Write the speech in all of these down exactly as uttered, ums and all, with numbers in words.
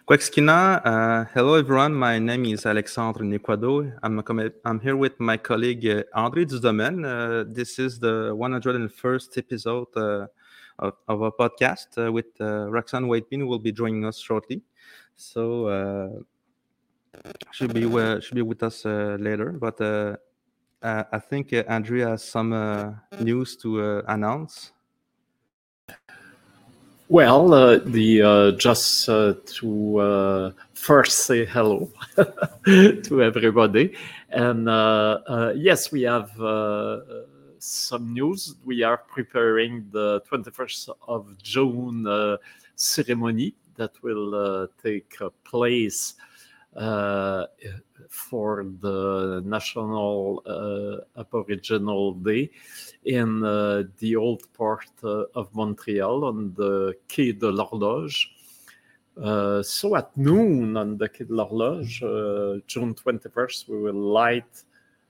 Kwekskina, uh, hello everyone. My name is Alexandre Nequado. I'm, a, I'm here with my colleague uh, André Dudomen. Uh, this is the one hundred first episode uh, of, of our podcast uh, with uh, Roxanne Whitebean, who will be joining us shortly. So uh, she'll be uh, she'll be with us uh, later. But uh, uh, I think uh, Andrea has some uh, news to uh, announce. Well, uh, the uh, just uh, to uh, first say hello to everybody, and uh, uh, yes, we have uh, some news. We are preparing the twenty-first of June uh, ceremony that will uh, take uh, place uh, for the National uh, Aboriginal Day in uh, the old port uh, of Montreal on the Quai de l'Horloge. Uh, so at noon on the Quai de l'Horloge, uh, June twenty-first, we will light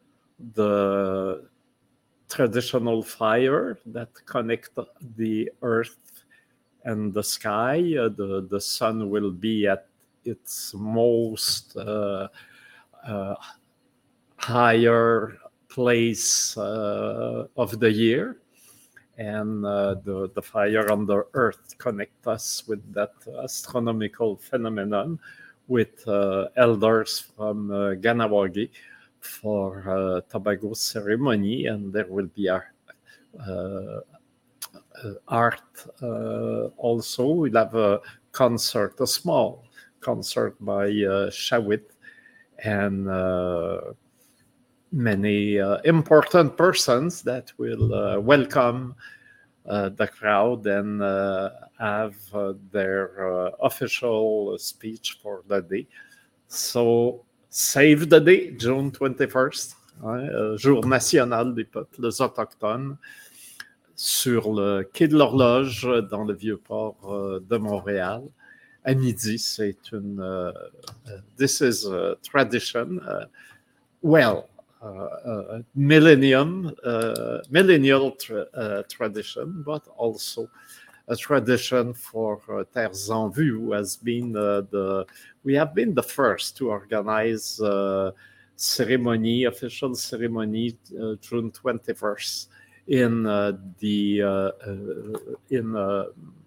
the traditional fire that connect the earth and the sky. Uh, the, the sun will be at its most uh, uh, higher place uh, of the year, and uh, the, the fire on the earth connect us with that astronomical phenomenon with uh, elders from uh, Ganawagi for uh, Tobago ceremony, and there will be art, uh, uh, art uh, also. We'll have a concert, a small concert by uh, Shawit, and uh, many uh, important persons that will uh, welcome uh, the crowd and uh, have uh, their uh, official speech for the day. So, save the day, June twenty-first, hein, euh, jour national des peuples autochtones, sur le quai de l'Horloge, dans le Vieux-Port uh, de Montréal. À midi, c'est une... Uh, uh, this is a tradition. Uh, well, Uh, uh, millennium, uh, millennial tra- uh, tradition, but also a tradition for uh, Terres en Vue, who has been uh, the, we have been the first to organize uh, ceremony, official ceremony, uh, June twenty-first in uh, the, uh, uh, in uh,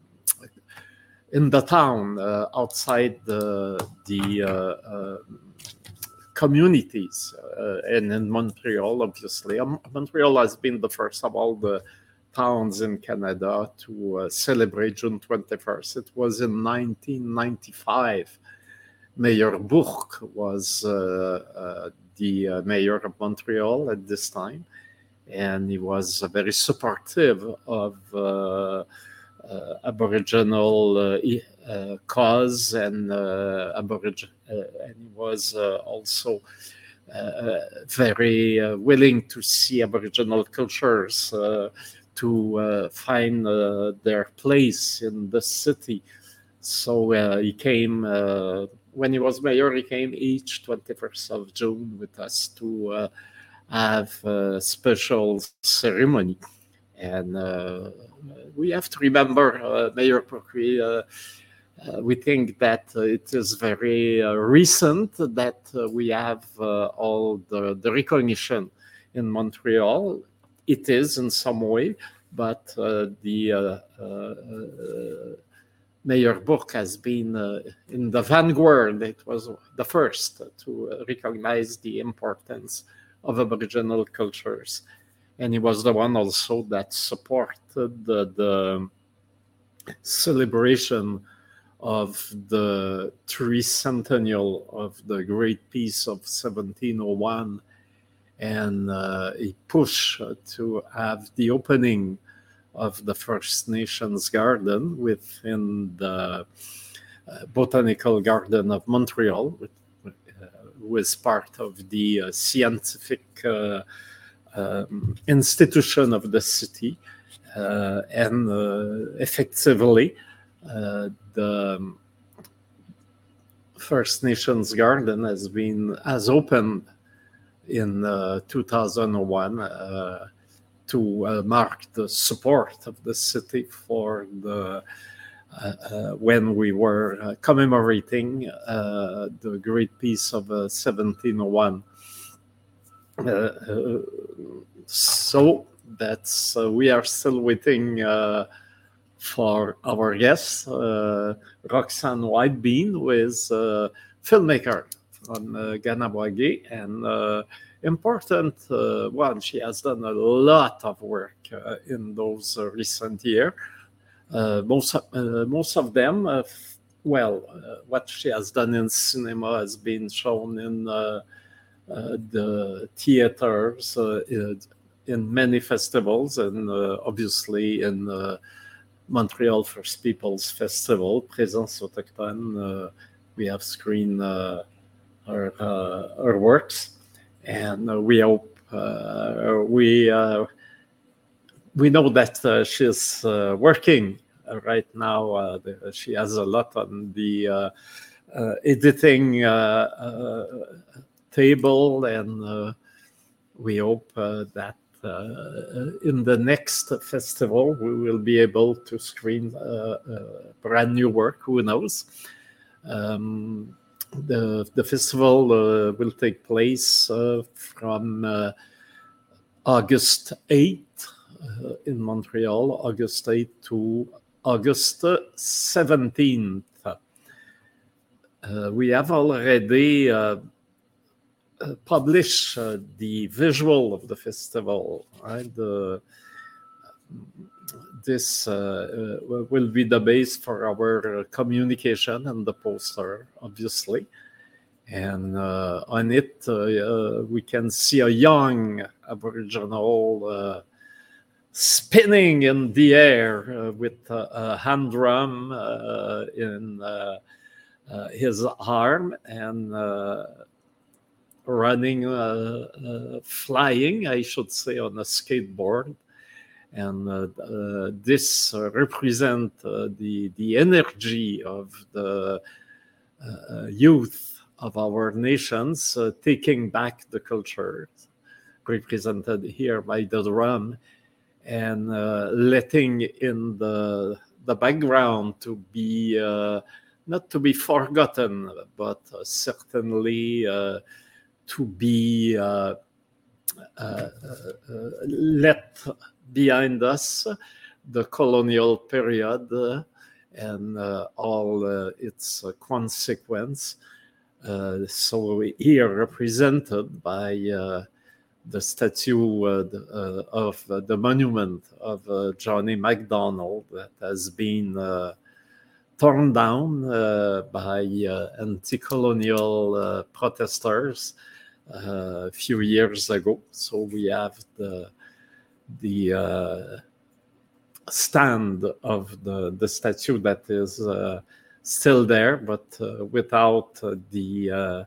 in the town uh, outside the, the uh, uh, communities, uh, and in Montreal, obviously. Um, Montreal has been the first of all the towns in Canada to uh, celebrate June twenty-first. It was in nineteen ninety-five. Mayor Bourque was uh, uh, the uh, mayor of Montreal at this time, and he was uh, very supportive of uh, uh, Aboriginal uh, uh, cause, and uh, Aborig- uh, and he was uh, also uh, very uh, willing to see Aboriginal cultures uh, to uh, find uh, their place in the city. So uh, he came, uh, when he was mayor, he came each twenty-first of June with us to uh, have a special ceremony. And uh, we have to remember, uh, Mayor Procri, uh, uh, we think that uh, it is very uh, recent that uh, we have uh, all the, the recognition in Montreal. It is in some way, but uh, the uh, uh, Mayor Bourque has been uh, in the vanguard. It was the first to recognize the importance of Aboriginal cultures. And he was the one also that supported the, the celebration of the tricentennial of the Great Peace of seventeen oh one. And uh, he pushed to have the opening of the First Nations Garden within the uh, Botanical Garden of Montreal, which uh, was part of the uh, scientific uh, um, institution of the city. Uh, and uh, effectively, uh, the First Nations Garden has been has opened in uh, two thousand one uh, to uh, mark the support of the city for the uh, uh, when we were uh, commemorating uh, the great peace of uh, seventeen oh one. Uh, uh, so that's uh, we are still waiting uh, for our guest, uh, Roxane Whitebean, who is a filmmaker from uh, Ganabwage, and uh, important uh, one. She has done a lot of work uh, in those uh, recent years. Uh, most, uh, most of them, uh, f- well, uh, what she has done in cinema has been shown in uh, uh, the theaters, uh, in, in many festivals, and uh, obviously in uh, Montreal First Peoples Festival, Présence Autochtone. Uh, we have screened uh, her, uh, her works, and uh, we hope uh, we uh, we know that uh, she's uh, working right now. Uh, the, she has a lot on the uh, uh, editing uh, uh, table, and uh, we hope uh, that uh, in the next festival we will be able to screen uh, uh, brand new work. Who knows? Um, the the festival uh, will take place uh, from uh, August eighth uh, in Montreal, August eighth to August seventeenth. Uh, we have already uh, uh, published uh, the visual of the festival, right? The, this uh, uh, will be the base for our communication and the poster, obviously. And uh, on it, uh, uh, we can see a young Aboriginal uh, spinning in the air uh, with a, a hand drum uh, in uh, uh, his arm, and uh, running, uh, uh, flying, I should say, on a skateboard. And uh, uh, this uh, represents uh, the, the energy of the uh, youth of our nations, uh, taking back the culture, represented here by the drum, and uh, letting in the the background to be uh, not to be forgotten, but uh, certainly uh, to be uh, uh, uh, let behind us the colonial period uh, and uh, all uh, its uh, consequence. Uh, so here represented by uh, the statue uh, the, uh, of uh, the monument of uh, Johnny MacDonald that has been uh, torn down uh, by uh, anti-colonial uh, protesters uh, a few years ago. So we have the the uh, stand of the, the statue that is uh, still there, but uh, without uh, the uh,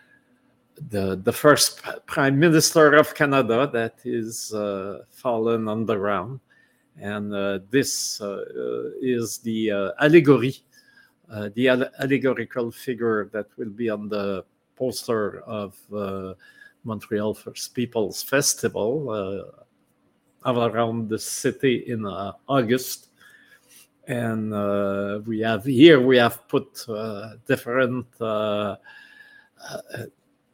the the first Prime Minister of Canada that is uh, fallen on the ground. And uh, this uh, is the uh, allegory, uh, the alle- allegorical figure that will be on the poster of uh, Montreal First Peoples Festival uh, around the city in uh, August. And uh, we have here, we have put uh, different uh, uh,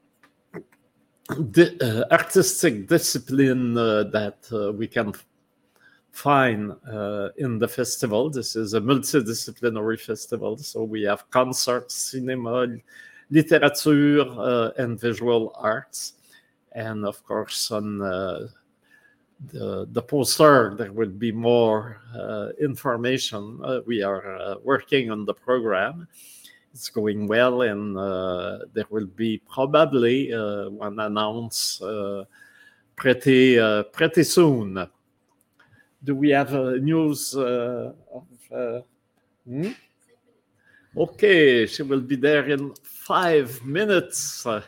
di- uh, artistic discipline uh, that uh, we can find uh, in the festival. This is a multidisciplinary festival. So we have concerts, cinema, literature, uh, and visual arts. And of course, on uh, the, the poster, there will be more uh, information. Uh, we are uh, working on the program. It's going well, and uh, there will be probably uh, one announced uh, pretty uh, pretty soon. Do we have uh, news uh, of? Uh, hmm? Okay, she will be there in five minutes. uh,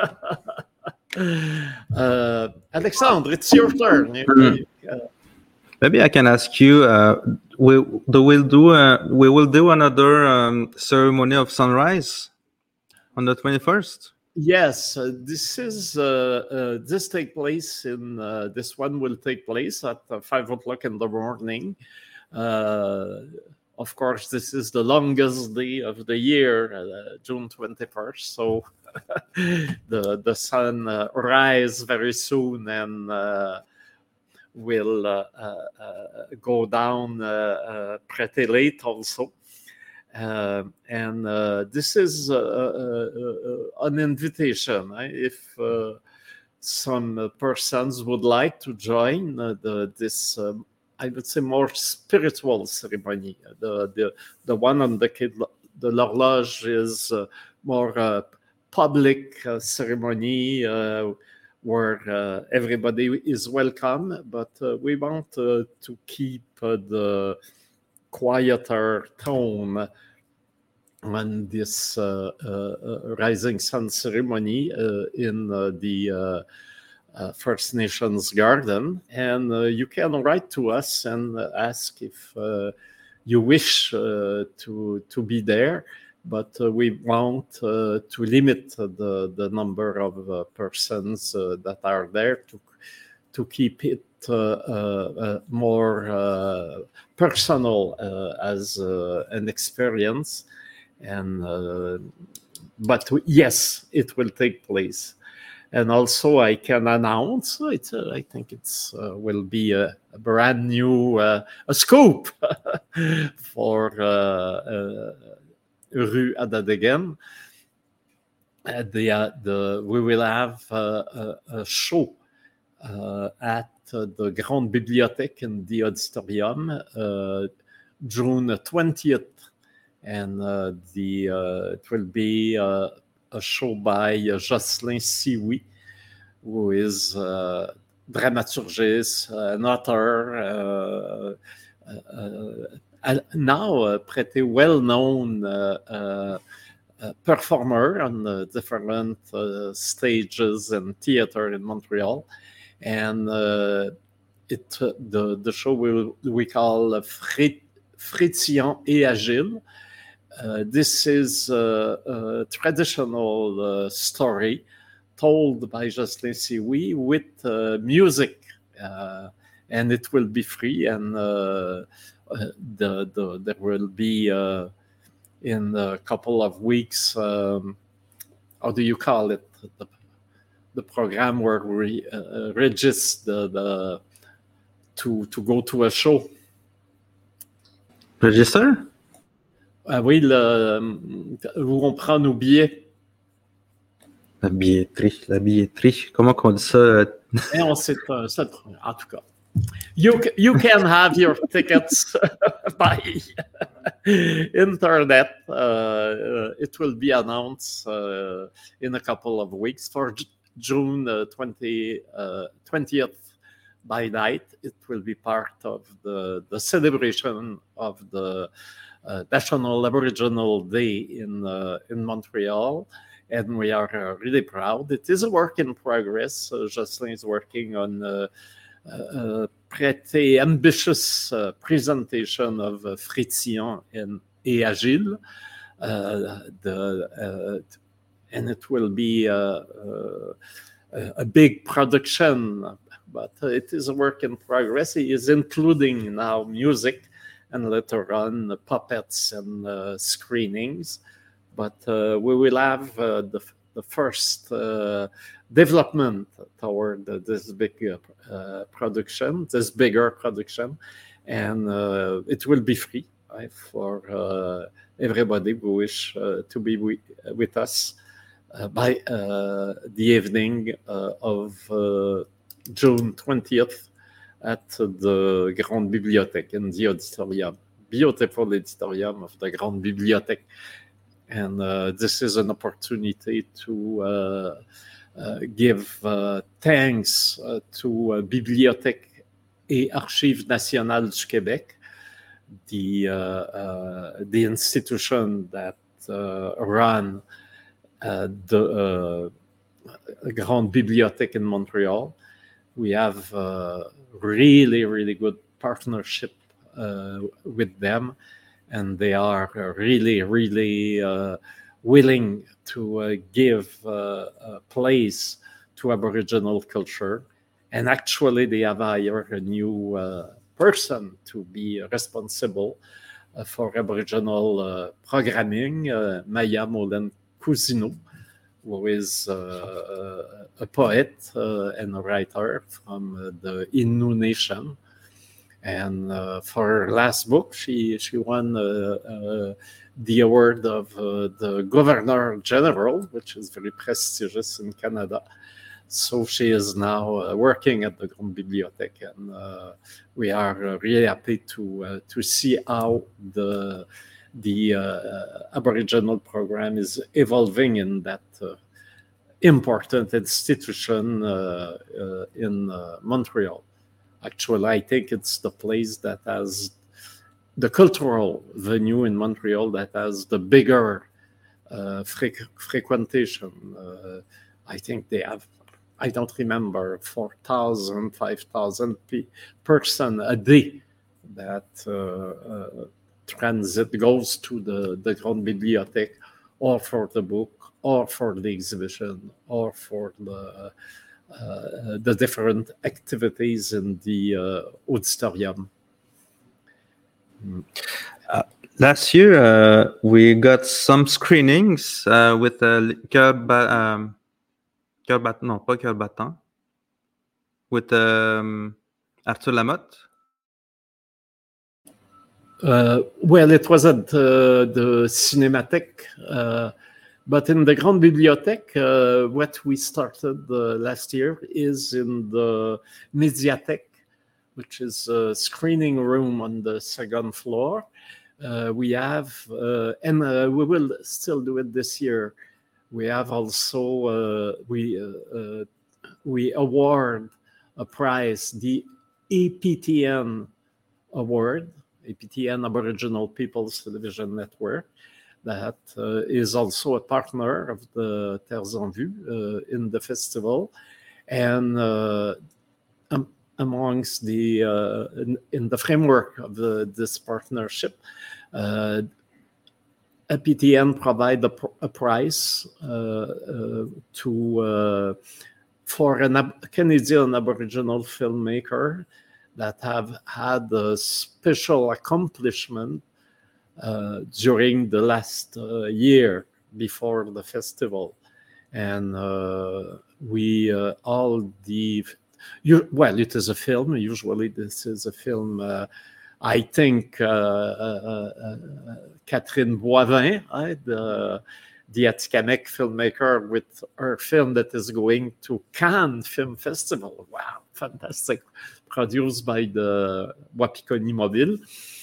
Alexandre, it's your turn. You- uh, Maybe I can ask you. Uh, we do we'll do uh, we will do another um, ceremony of sunrise on the twenty-first. Yes, uh, this is uh, uh, this take place in uh, this one will take place at uh, five o'clock in the morning. Uh, of course, this is the longest day of the year, uh, June twenty-first. So the the sun uh, rise very soon and uh, will uh, uh, uh, go down uh, uh, pretty late also. Uh, and uh, this is uh, uh, uh, an invitation. Eh? If uh, some persons would like to join uh, the, this, um, I would say, more spiritual ceremony. The the, the one on the Quai de l'Horloge is uh, more uh, public uh, ceremony uh, where uh, everybody is welcome, but uh, we want uh, to keep uh, the quieter tone on this uh, uh, Rising Sun ceremony uh, in uh, the uh, uh, First Nations Garden. And uh, you can write to us and ask if uh, you wish uh, to, to be there, but uh, we want uh, to limit the, the number of uh, persons uh, that are there to, to keep it uh, uh, more uh, personal uh, as uh, an experience. And uh, but yes, it will take place. And also, I can announce it. Uh, I think it's uh, will be a, a brand new uh, a scoop for uh, uh, Rue Adadegen. Uh, the, uh, the we will have uh, a, a show uh, at uh, the Grande Bibliothèque in the auditorium, uh, June twentieth. And uh, the uh, it will be uh, a show by uh, Jocelyn Sioui, who is a dramaturgist, an author, uh, uh, uh, now a pretty well-known uh, uh, uh, performer on uh, different uh, stages and theater in Montreal. And uh, it uh, the, the show we, we call Frit, Frétillant et Agile. Uh, this is a, a traditional uh, story told by Jocelyn Sioui with uh, music, uh, and it will be free. And uh, the, the there will be uh, in a couple of weeks. Um, how do you call it? The, the program where we uh, register the, the to to go to a show. Register? Ah oui, le, où on prend nos billets. La billetterie, la billetterie. Comment on dit ça? Et on sait, en tout cas. You, you can have your tickets by internet. Uh, it will be announced uh, in a couple of weeks for June uh, twentieth uh, twentieth by night. It will be part of the, the celebration of the Uh, National Aboriginal Day in uh, in Montreal, and we are uh, really proud. It is a work in progress. Uh, Jocelyn is working on uh, a pretty ambitious uh, presentation of uh, Frétillant and et Agile, uh, the, uh, and it will be uh, uh, a big production, but it is a work in progress. He is including now music, and later on uh, puppets and uh, screenings. But uh, we will have uh, the, the first uh, development toward uh, this big uh, uh, production, this bigger production, and uh, it will be free right, for uh, everybody who wish uh, to be with, with us uh, by uh, the evening uh, of uh, June twentieth. At the Grande Bibliothèque in the auditorium, beautiful auditorium of the Grande Bibliothèque. And uh, this is an opportunity to uh, uh, give uh, thanks uh, to uh, Bibliothèque et Archives Nationales du Québec, the, uh, uh, the institution that uh, run uh, the uh, Grande Bibliothèque in Montreal. We have uh, really, really good partnership uh, with them, and they are really, really uh, willing to uh, give uh, a place to Aboriginal culture. And actually, they have hired a new uh, person to be responsible uh, for Aboriginal uh, programming, uh, Maya Molen Cousineau, who is uh, a poet uh, and a writer from uh, the Innu Nation. And uh, for her last book, she, she won uh, uh, the award of uh, the Governor General, which is very prestigious in Canada. So she is now uh, working at the Grande Bibliothèque, and uh, we are uh, really happy to uh, to see how the the uh, Aboriginal program is evolving in that uh, important institution uh, uh, in uh, Montreal. Actually, I think it's the place that has the cultural venue in Montreal that has the bigger uh, fre- frequentation. Uh, I think they have, I don't remember, four thousand, five thousand pe- person a day that uh, uh, transit goes to the, the Grande Bibliothèque, or for the book, or for the exhibition, or for the uh, the different activities in the uh, auditorium. Uh, last year, uh, we got some screenings uh, with uh, Cœur ba- um, Cœur bat- non, pas Cœur battant, with um, Arthur Lamotte. Uh, well, it was at the, the Cinémathèque, uh, but in the Grande Bibliothèque, uh, what we started uh, last year is in the Médiathèque, which is a screening room on the second floor. Uh, we have, uh, and uh, we will still do it this year. We have also, uh, we, uh, uh, we award a prize, the A P T N Award, A P T N Aboriginal People's Television Network, that uh, is also a partner of the Terres en Vue uh, in the festival. And uh, um, amongst the, uh, in, in the framework of the, this partnership, uh, A P T N provide a, a prize uh, uh, to uh, for a Ab- Canadian Aboriginal filmmaker that have had a special accomplishment uh, during the last uh, year before the festival. And uh, we uh, all the, you, well, it is a film. Usually this is a film, uh, I think uh, uh, uh, Catherine Boivin, right, the, the Atikamekw filmmaker, with her film that is going to Cannes Film Festival. Wow, fantastic. Produced by the Wapikoni Mobile.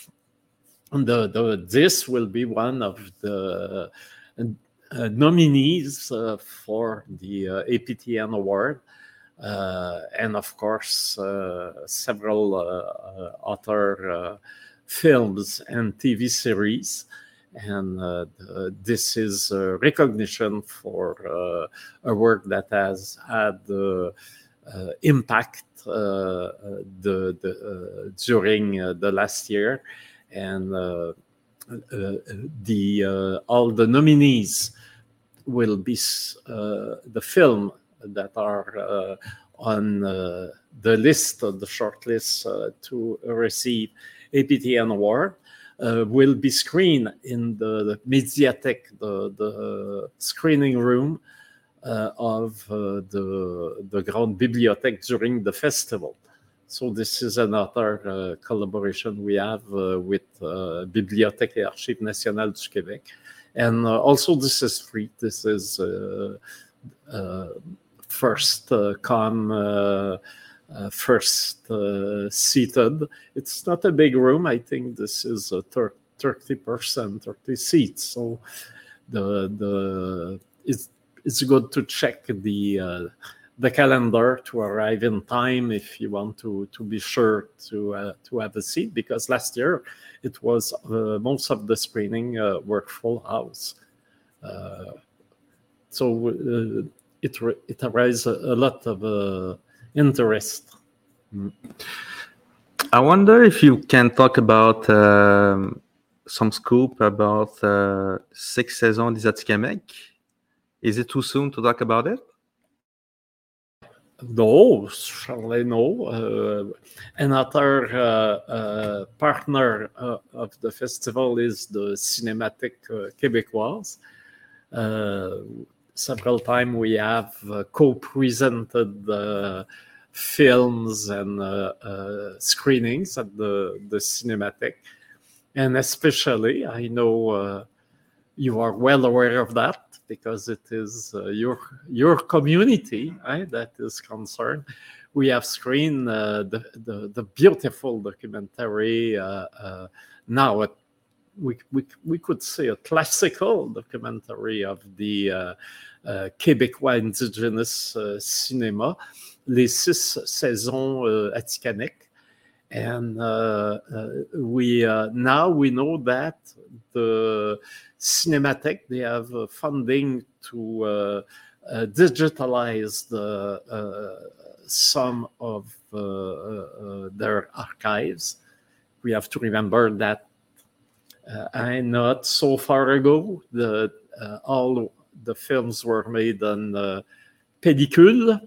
And the, the, this will be one of the uh, nominees uh, for the uh, A P T N Award. Uh, and of course, uh, several uh, other uh, films and T V series. And uh, the, this is a recognition for uh, a work that has had uh, uh, impact uh, the, the, uh, during uh, the last year. And uh, uh, the uh, all the nominees will be uh, the film that are uh, on uh, the list, the short list uh, to receive A P T N Award. Uh, will be screened in the, the Médiathèque, the, the screening room uh, of uh, the, the Grande Bibliothèque during the festival. So this is another uh, collaboration we have uh, with uh, Bibliothèque et Archives Nationales du Québec. And uh, also this is free. This is uh, uh, first uh, come, uh, uh, first uh, seated. It's not a big room. I think this is a thir- thirty percent, thirty seats. So the the it's it's good to check the uh, the calendar to arrive in time if you want to to be sure to uh, to have a seat, because last year it was uh, most of the screening uh, were full house. Uh, so uh, it it arises a, a lot of uh, interest. Mm. I wonder if you can talk about um, some scoop about uh, Six Saisons des Atikamekw. Is it too soon to talk about it? No, surely no. Uh, another uh, uh, partner uh, of the festival is the Cinémathèque uh, Québécoise. Uh, several times we have uh, co-presented uh, films and uh, uh, screenings at the, the Cinémathèque. And especially, I know uh, you are well aware of that because it is uh, your your community eh, that is concerned. We have screened uh, the, the the beautiful documentary uh, uh, now. At, we, we we could say a classical documentary of the uh, uh, Québécois indigenous uh, cinema, Les Six Saisons uh, Atikamekw. And uh, uh, we uh, now we know that the Cinémathèque, they have uh, funding to uh, uh, digitalize the uh, some of uh, uh, their archives. We have to remember that uh, I not so far ago the uh, all the films were made on uh, pellicule,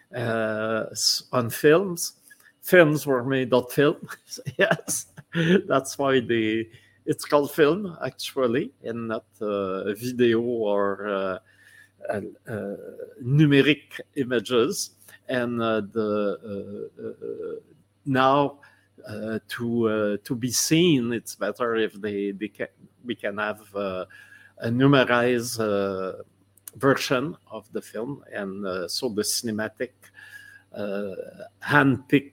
uh, on films. Films were made on film. Yes, that's why they it's called film actually, and not uh, video or uh, uh, uh, numeric images. And uh, the uh, uh, now uh, to uh, to be seen, it's better if they, they can we can have uh, a numerized uh, version of the film, and uh, so the Cinémathèque uh, handpick,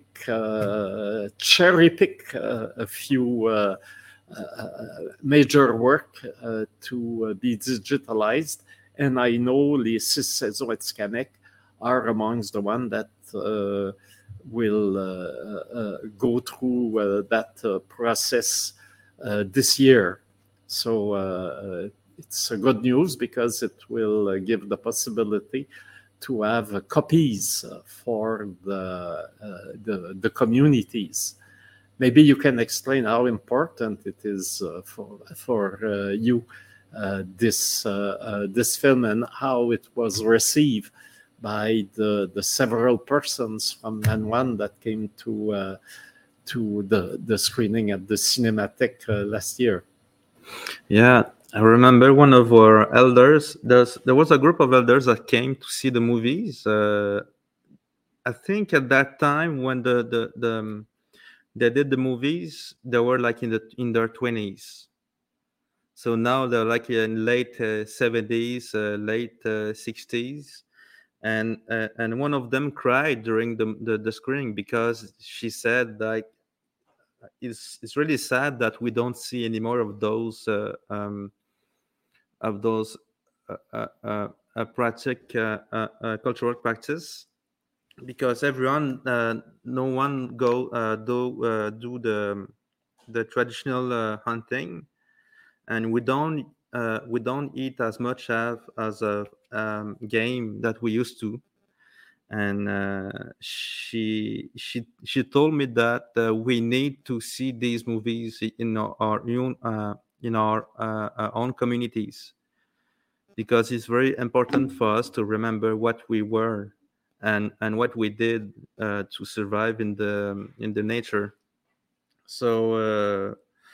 uh, cherry pick uh, a few uh, uh, major work uh, to uh, be digitalized. And I know Les Six Saisons Atikamekw are amongst the one that uh, will uh, uh, go through uh, that uh, process uh, this year. So uh, it's a good news because it will uh, give the possibility to have uh, copies uh, for the, uh, the the communities. Maybe you can explain how important it is uh, for for uh, you uh, this uh, uh, this film and how it was received by the the several persons from Nanyuan that came to uh, to the the screening at the Cinémathèque uh, last year. Yeah, I remember one of our elders. There's there was a group of elders that came to see the movies. Uh, I think at that time when the the the um, they did the movies, they were like in the in their twenties. So now they're like in late uh, seventies, uh, late uh, sixties, and uh, and one of them cried during the, the the screening because she said like it's it's really sad that we don't see any more of those uh, um, of those uh, uh, uh, uh, practic, uh, uh, uh, cultural practice, because everyone, uh, no one go uh, do uh, do the the traditional uh, hunting, and we don't uh, we don't eat as much as as a um, game that we used to. And uh, she she she told me that uh, we need to see these movies in our, our own uh, in our, uh, our own communities, because it's very important for us to remember what we were and and what we did uh, to survive in the in the nature. So uh,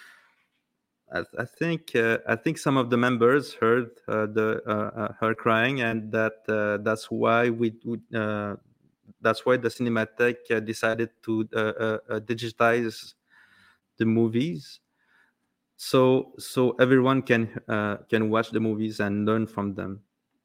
I, I think uh, I think some of the members heard uh, the uh, uh, her crying, and that uh, that's why we, we uh, that's why the Cinémathèque uh, decided to uh, uh, uh, digitize the movies, so so everyone can uh, can watch the movies and learn from them.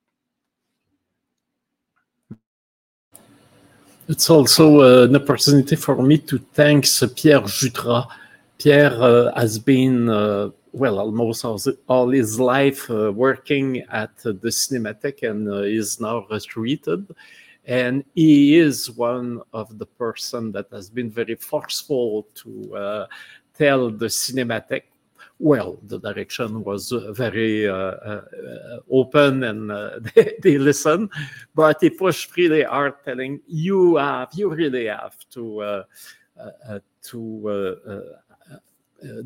It's also uh, an opportunity for me to thank Pierre Jutras. Pierre uh, has been, uh, well, almost all, all his life uh, working at uh, the Cinémathèque, and uh, is now retreated. And he is one of the person that has been very forceful to uh, tell the Cinémathèque. Well, the direction was uh, very uh, uh, open, and uh, they, they listen, but he pushed really hard, telling you have, you really have to uh, uh, to uh, uh,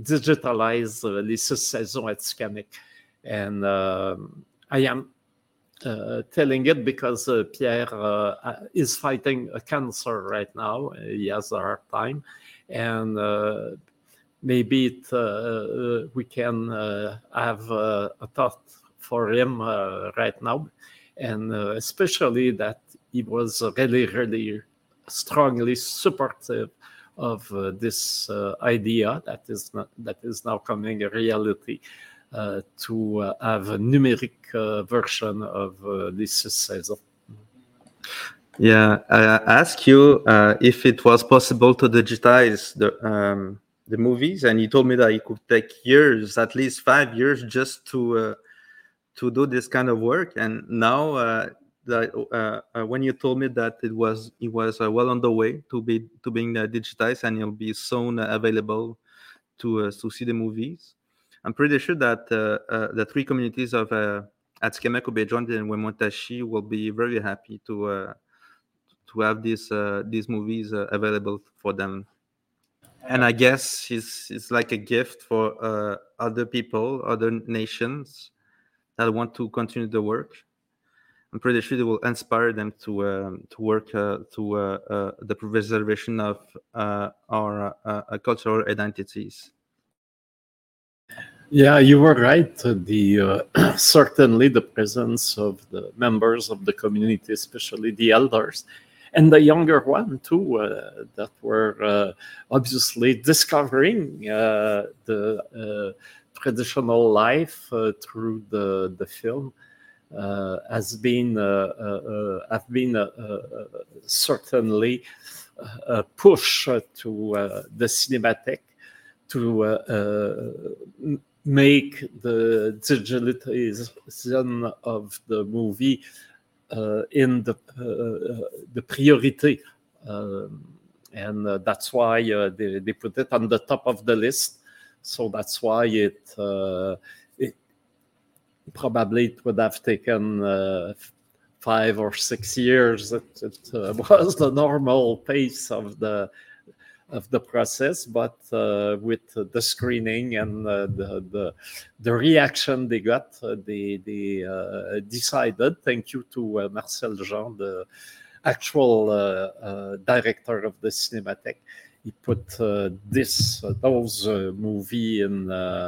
digitalize uh, Les Six Saisons Atikamekw. And uh, I am uh, telling it because uh, Pierre uh, is fighting a cancer right now. He has a hard time, and uh, maybe it, uh, we can uh, have uh, a thought for him uh, right now, and uh, especially that he was really, really strongly supportive of uh, this uh, idea that is not, that is now coming a reality, uh, to uh, have a numeric uh, version of uh, Lycée César. Yeah, I asked you uh, if it was possible to digitize the um, the movies, and you told me that it could take years, at least five years, just to uh, to do this kind of work. And now, uh, that uh, uh, when you told me that it was it was uh, well on the way to be to being uh, digitized, and it'll be soon uh, available to uh, to see the movies, I'm pretty sure that uh, uh, the three communities of uh, Atikamek, Obejon, and Wemontashi will be very happy to. Uh, to have these uh, these movies uh, available for them. And I guess it's it's like a gift for uh, other people, other nations that want to continue the work. I'm pretty sure it will inspire them to um, to work uh, to uh, uh, the preservation of uh, our uh, uh, cultural identities. Yeah, you were right. The uh, certainly the presence of the members of the community, especially the elders, and the younger one too, uh, that were uh, obviously discovering uh, the uh, traditional life uh, through the the film, uh, has been uh, uh, have been uh, uh, certainly a push to uh, the Cinémathèque to uh, uh, make the digitalization of the movie uh, in the uh, the priority, um, and uh, that's why uh, they, they put it on the top of the list. So that's why it, uh, it probably it would have taken uh, five or six years. It, it uh, was the normal pace of the of the process, but uh, with the screening and uh, the, the the reaction they got, uh, they they uh, decided. Thank you to uh, Marcel Jean, the actual uh, uh, director of the Cinémathèque. He put uh, this uh, those uh, movie in uh,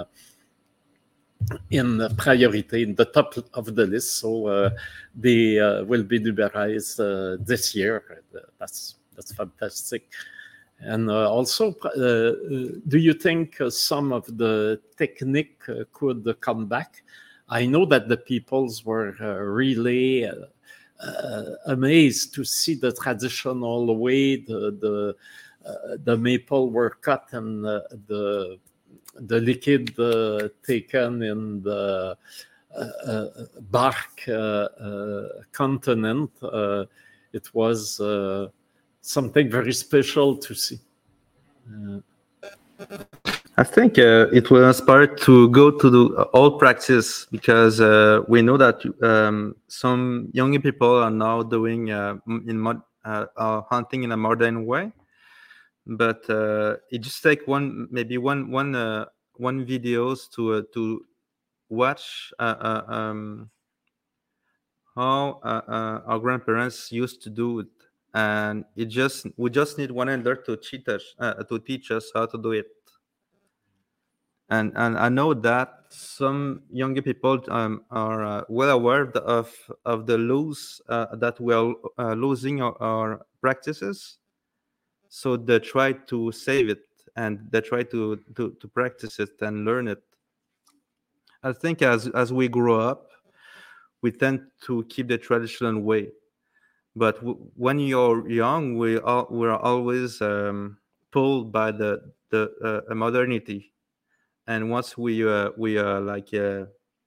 in priority in the top of the list. So uh, they uh, will be liberalized uh, this year. That's that's fantastic. And uh, also, uh, do you think uh, some of the technique uh, could uh, come back? I know that the peoples were uh, really uh, uh, amazed to see the traditional way the the, uh, the maple were cut and uh, the the liquid uh, taken in the uh, uh, bark uh, uh, continent. Uh, it was. Uh, something very special to see. Uh, I think uh, it will inspire to go to the old practice, because uh, we know that um, some young people are now doing uh, in mod, uh, are hunting in a modern way, but uh, it just take one maybe one one uh, one videos to uh, to watch uh, uh, um, how uh, uh, our grandparents used to do it. And it just we just need one elder to teach us uh, to teach us how to do it. And and I know that some younger people um, are uh, well aware of of the lose uh, that we are uh, losing our, our practices. So they try to save it, and they try to, to to practice it and learn it. I think as as we grow up, we tend to keep the traditional way. But w- when you're young, we are we're always um, pulled by the the uh, modernity, and once we uh, we uh, like uh,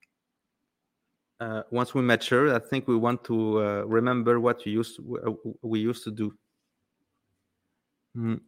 uh, once we mature, I think we want to uh, remember what we used to, uh, we used to do. Mm.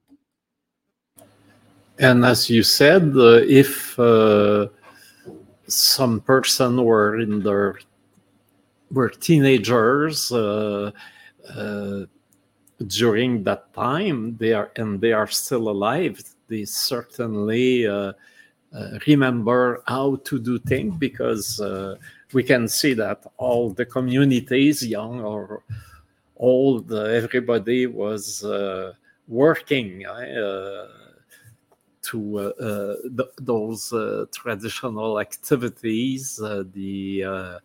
And as you said, uh, if uh, some person were in their were teenagers uh, uh, during that time, they are and they are still alive. They certainly uh, uh, remember how to do things, because uh, we can see that all the communities, young or old, uh, everybody was uh, working uh, to uh, uh, th- those uh, traditional activities, uh, the, uh, uh,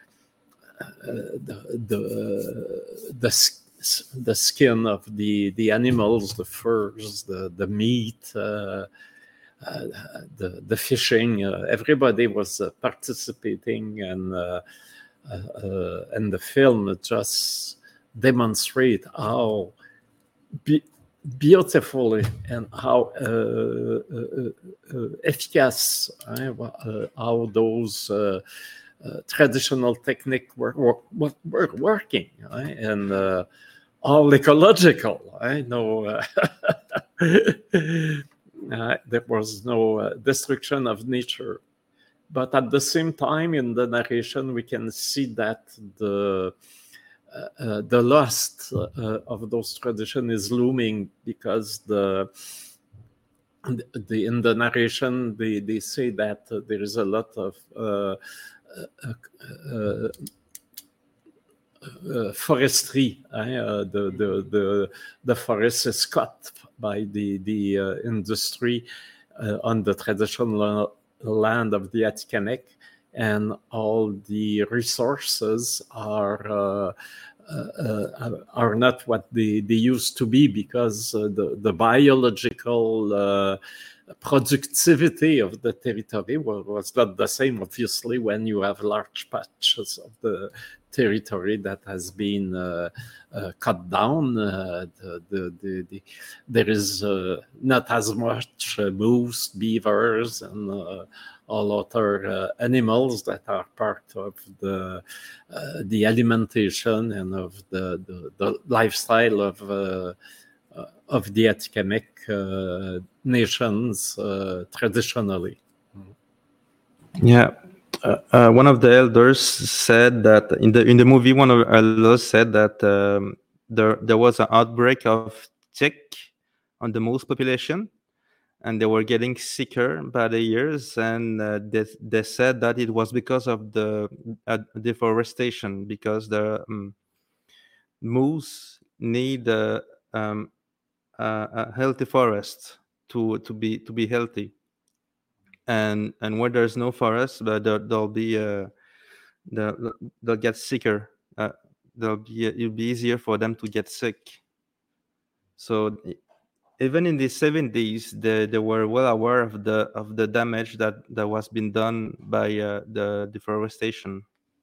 the the the the skin of the the animals, the furs, the the meat, uh, uh, the the fishing. Uh, everybody was uh, participating, and uh, uh, uh, and the film just demonstrate how be- beautifully and how uh, uh, uh, efficace, uh, uh, how those uh, uh, traditional techniques were, were, were working, right? And uh, all ecological. I know uh, uh, there was no uh, destruction of nature. But at the same time, in the narration, we can see that the uh, uh, the loss uh, of those traditions is looming, because the, the in the narration they, they say that uh, there is a lot of uh, uh, uh, uh, forestry. Uh, the, the the the forest is cut by the the uh, industry uh, on the traditional land of the Atikamekw, and all the resources are uh, uh, are not what they, they used to be, because uh, the, the biological uh, productivity of the territory was, was not the same, obviously, when you have large patches of the territory that has been uh, uh, cut down. Uh, the, the, the, the, there is uh, not as much uh, moose, beavers, and uh, all other uh, animals that are part of the uh, the alimentation and of the, the, the lifestyle of uh, uh, of the Atikamekw uh, nations uh, traditionally. Yeah. Uh, uh, one of the elders said that in the in the movie, one of the elders said that um, there there was an outbreak of tick on the moose population, and they were getting sicker by the years, and uh, they, they said that it was because of the uh, deforestation, because the um, moose need uh, um, uh, a healthy forest to to be to be healthy, and and where there's no forest, but there, there'll be uh, they'll, they'll get sicker. Uh, they'll be it'll be easier for them to get sick. So even in the seventies, they, they were well aware of the of the damage that, that was being done by uh, the deforestation,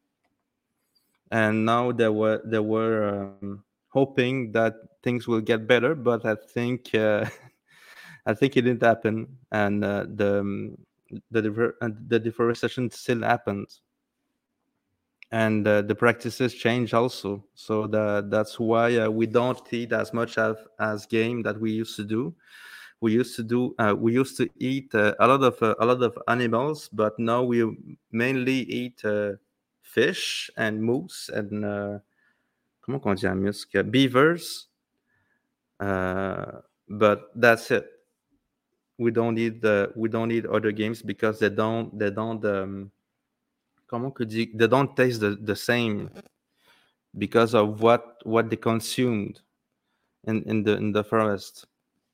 and now they were they were um, hoping that things will get better. But I think uh, I think it didn't happen, and uh, the um, the defer- uh, the deforestation still happens, and uh, the practices change also. So the, that's why uh, we don't eat as much as, as game that we used to do. We used to do uh, we used to eat uh, a lot of uh, a lot of animals, but now we mainly eat uh, fish and moose and uh, comment on dit à musc? Beavers. Uh, but that's it. We don't need the we don't need other games because they don't they don't um, comment que dit, they don't taste the, the same because of what what they consumed in, in the in the forest.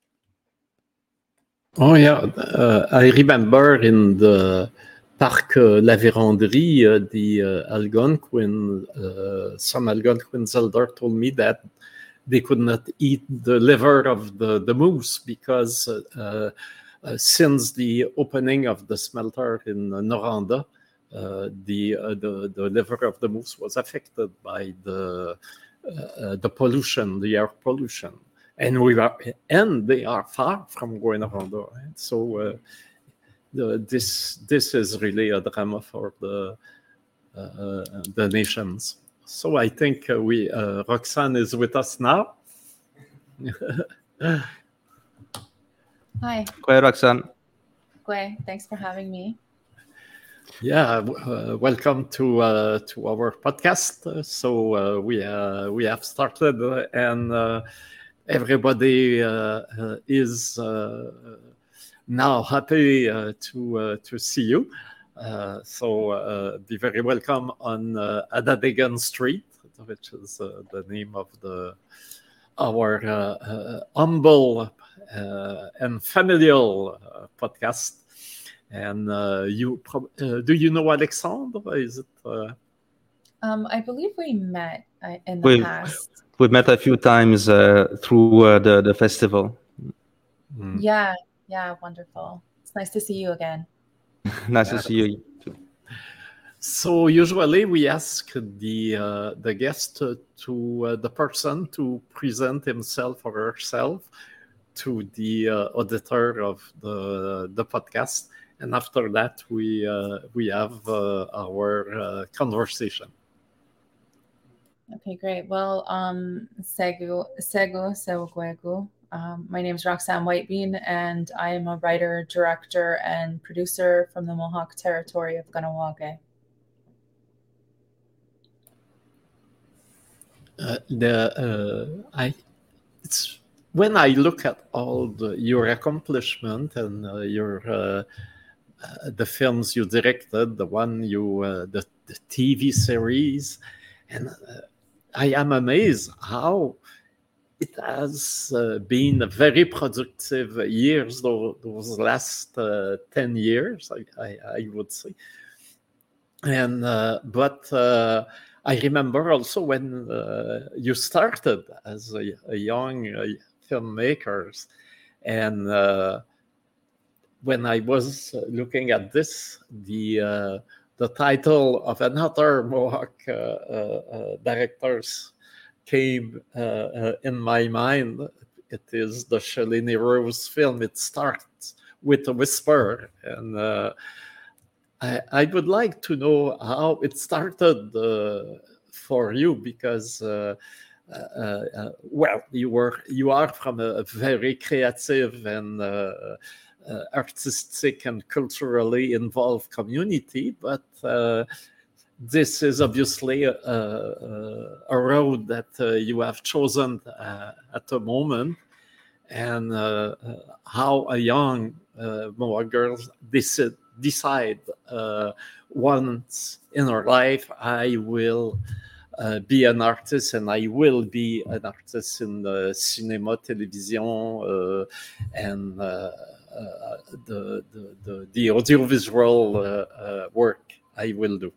Oh yeah, uh, I remember in the Parc uh, La Vérendrye, uh, the uh, Algonquin, uh, some Algonquin elder told me that they could not eat the liver of the, the moose because uh, uh, since the opening of the smelter in Noranda, uh, the, uh, the the liver of the moose was affected by the uh, the pollution, the air pollution. And we are, and they are far from Rwanda, right? So uh, the, this this is really a drama for the uh, the nations. So I think uh, we uh, Roxane is with us now. Hi. Go Roxane. Gwe, thanks for having me. Yeah, uh, welcome to uh, to our podcast. Uh, so uh, we uh, we have started, uh, and uh, everybody uh, uh, is uh, now happy uh, to uh, to see you. Uh, so uh, be very welcome on uh, Adadegan Street, which is uh, the name of the our uh, uh, humble uh, and familial uh, podcast. And uh, you, prob- uh, do you know Alexandre? Is it? Uh... Um, I believe we met uh, in the We past. we met a few times uh, through uh, the the festival. Mm. Yeah, yeah, wonderful. It's nice to see you again. Nice Yeah. to see you too. So usually we ask the uh, the guest to, to uh, the person to present himself or herself to the uh, auditor of the the podcast, and after that we uh, we have uh, our uh, conversation. Okay, great. Well, um, Segu, Segu, Segu, um, my name is Roxanne Whitebean, and I am a writer, director, and producer from the Mohawk territory of Kahnawake. Uh, the uh, I it's when I look at all the, your accomplishment and uh, your uh, uh, the films you directed, the one you uh, the, the T V series, and uh, I am amazed how it has uh, been a very productive years. Those, those last uh, ten years, I, I, I would say, and uh, but. Uh, I remember also when uh, you started as a, a young uh, filmmaker, and uh, when I was looking at this, the uh, the title of another Mohawk uh, uh, directors came uh, uh, in my mind. It is the Shalini Rose film. It starts with a whisper, and uh, I, I would like to know how it started uh, for you, because uh, uh, uh, well, you were you are from a very creative and uh, uh, artistic and culturally involved community, but uh, this is obviously a, a, a road that uh, you have chosen uh, at the moment, and uh, uh, how a young uh, Mohawk girl decide, decide uh, once in her life, I will uh, be an artist, and I will be an artist in the cinema, television, uh, and uh, uh, the, the, the, the audiovisual uh, uh, work I will do.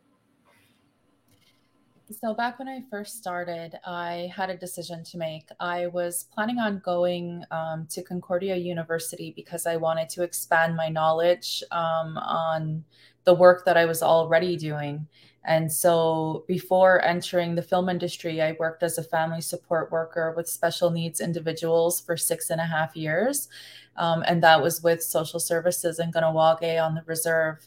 So back when I first started, I had a decision to make. I was planning on going um, to Concordia University because I wanted to expand my knowledge um, on the work that I was already doing. And so before entering the film industry, I worked as a family support worker with special needs individuals for six and a half years. Um, and that was with social services in Kahnawake on the reserve.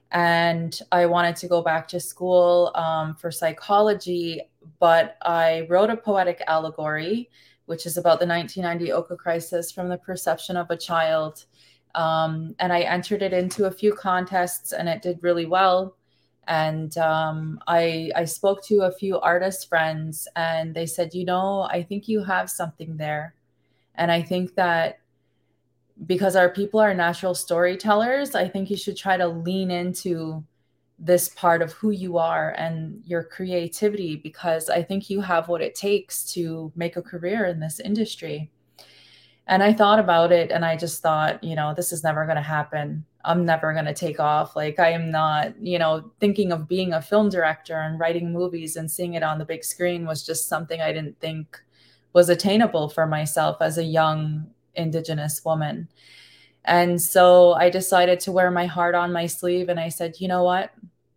And I wanted to go back to school um, for psychology, but I wrote a poetic allegory, which is about the nineteen ninety Oka crisis from the perception of a child. Um, and I entered it into a few contests, and it did really well. And um, I, I spoke to a few artist friends, and they said, you know, I think you have something there. And I think that because our people are natural storytellers, I think you should try to lean into this part of who you are and your creativity, because I think you have what it takes to make a career in this industry. And I thought about it, and I just thought, you know, this is never going to happen. I'm never going to take off. Like, I am not, you know, thinking of being a film director and writing movies and seeing it on the big screen was just something I didn't think was attainable for myself as a young Indigenous woman. And so I decided to wear my heart on my sleeve. And I said, you know what?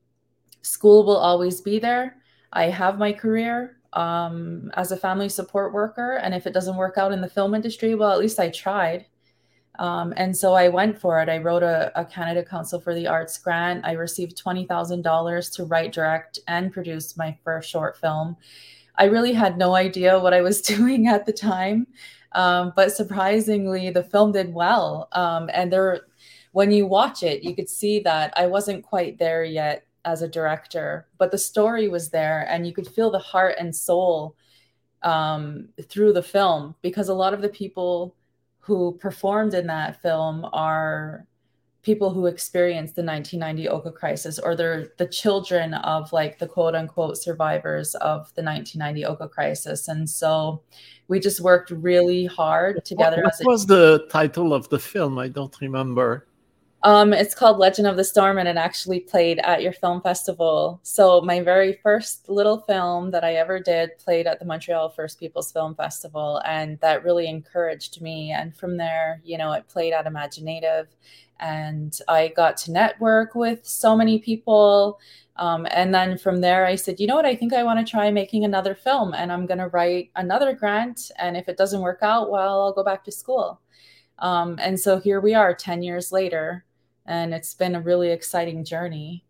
School will always be there. I have my career um, as a family support worker. And if it doesn't work out in the film industry, well, at least I tried. Um, and so I went for it. I wrote a, a Canada Council for the Arts grant. I received twenty thousand dollars to write, direct, and produce my first short film. I really had no idea what I was doing at the time. Um, but surprisingly, the film did well. Um, and there, when you watch it, you could see that I wasn't quite there yet as a director, but the story was there, and you could feel the heart and soul um, through the film, because a lot of the people who performed in that film are people who experienced the nineteen ninety Oka crisis, or they're the children of like the quote unquote survivors of the nineteen ninety Oka crisis. And so we just worked really hard together. What, what as a was the title of the film? I don't remember. Um, it's called Legend of the Storm, and it actually played at your film festival. So my very first little film that I ever did played at the Montreal First Peoples Film Festival, and that really encouraged me. And from there, you know, it played at Imaginative, and I got to network with so many people. Um, and then from there, I said, you know what, I think I want to try making another film, and I'm going to write another grant. And if it doesn't work out, well, I'll go back to school. Um, and so here we are ten years later. And it's been a really exciting journey.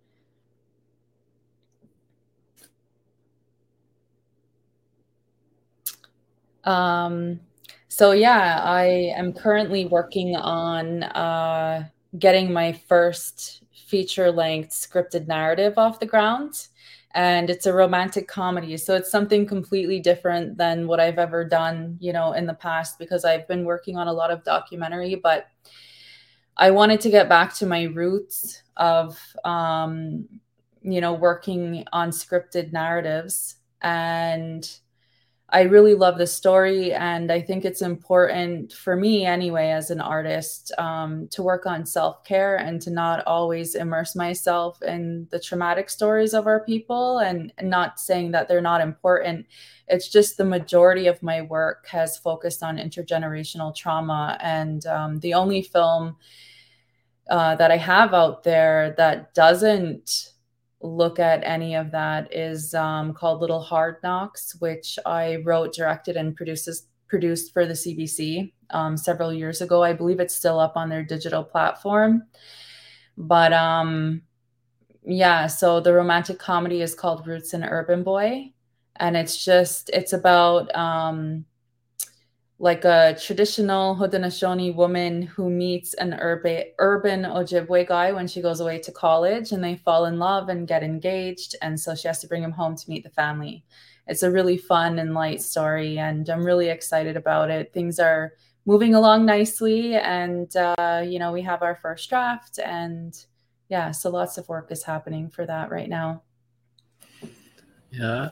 Um, so yeah, I am currently working on uh, getting my first feature-length scripted narrative off the ground. And it's a romantic comedy. So it's something completely different than what I've ever done, you know, in the past, because I've been working on a lot of documentary, but I wanted to get back to my roots of, um, you know, working on scripted narratives. And I really love the story. And I think it's important for me anyway, as an artist, um, to work on self-care and to not always immerse myself in the traumatic stories of our people, and, and not saying that they're not important. It's just the majority of my work has focused on intergenerational trauma. And um, the only film uh, that I have out there that doesn't look at any of that is um, called Little Hard Knocks, which I wrote, directed, and produces, produced for the C B C um, several years ago. I believe it's still up on their digital platform. But um, yeah, so the romantic comedy is called Roots and Urban Boy. And it's just, it's about um, like a traditional Haudenosaunee woman who meets an urban, urban Ojibwe guy when she goes away to college, and they fall in love and get engaged. And so she has to bring him home to meet the family. It's a really fun and light story, and I'm really excited about it. Things are moving along nicely, and, uh, you know, we have our first draft, and yeah, so lots of work is happening for that right now. Yeah.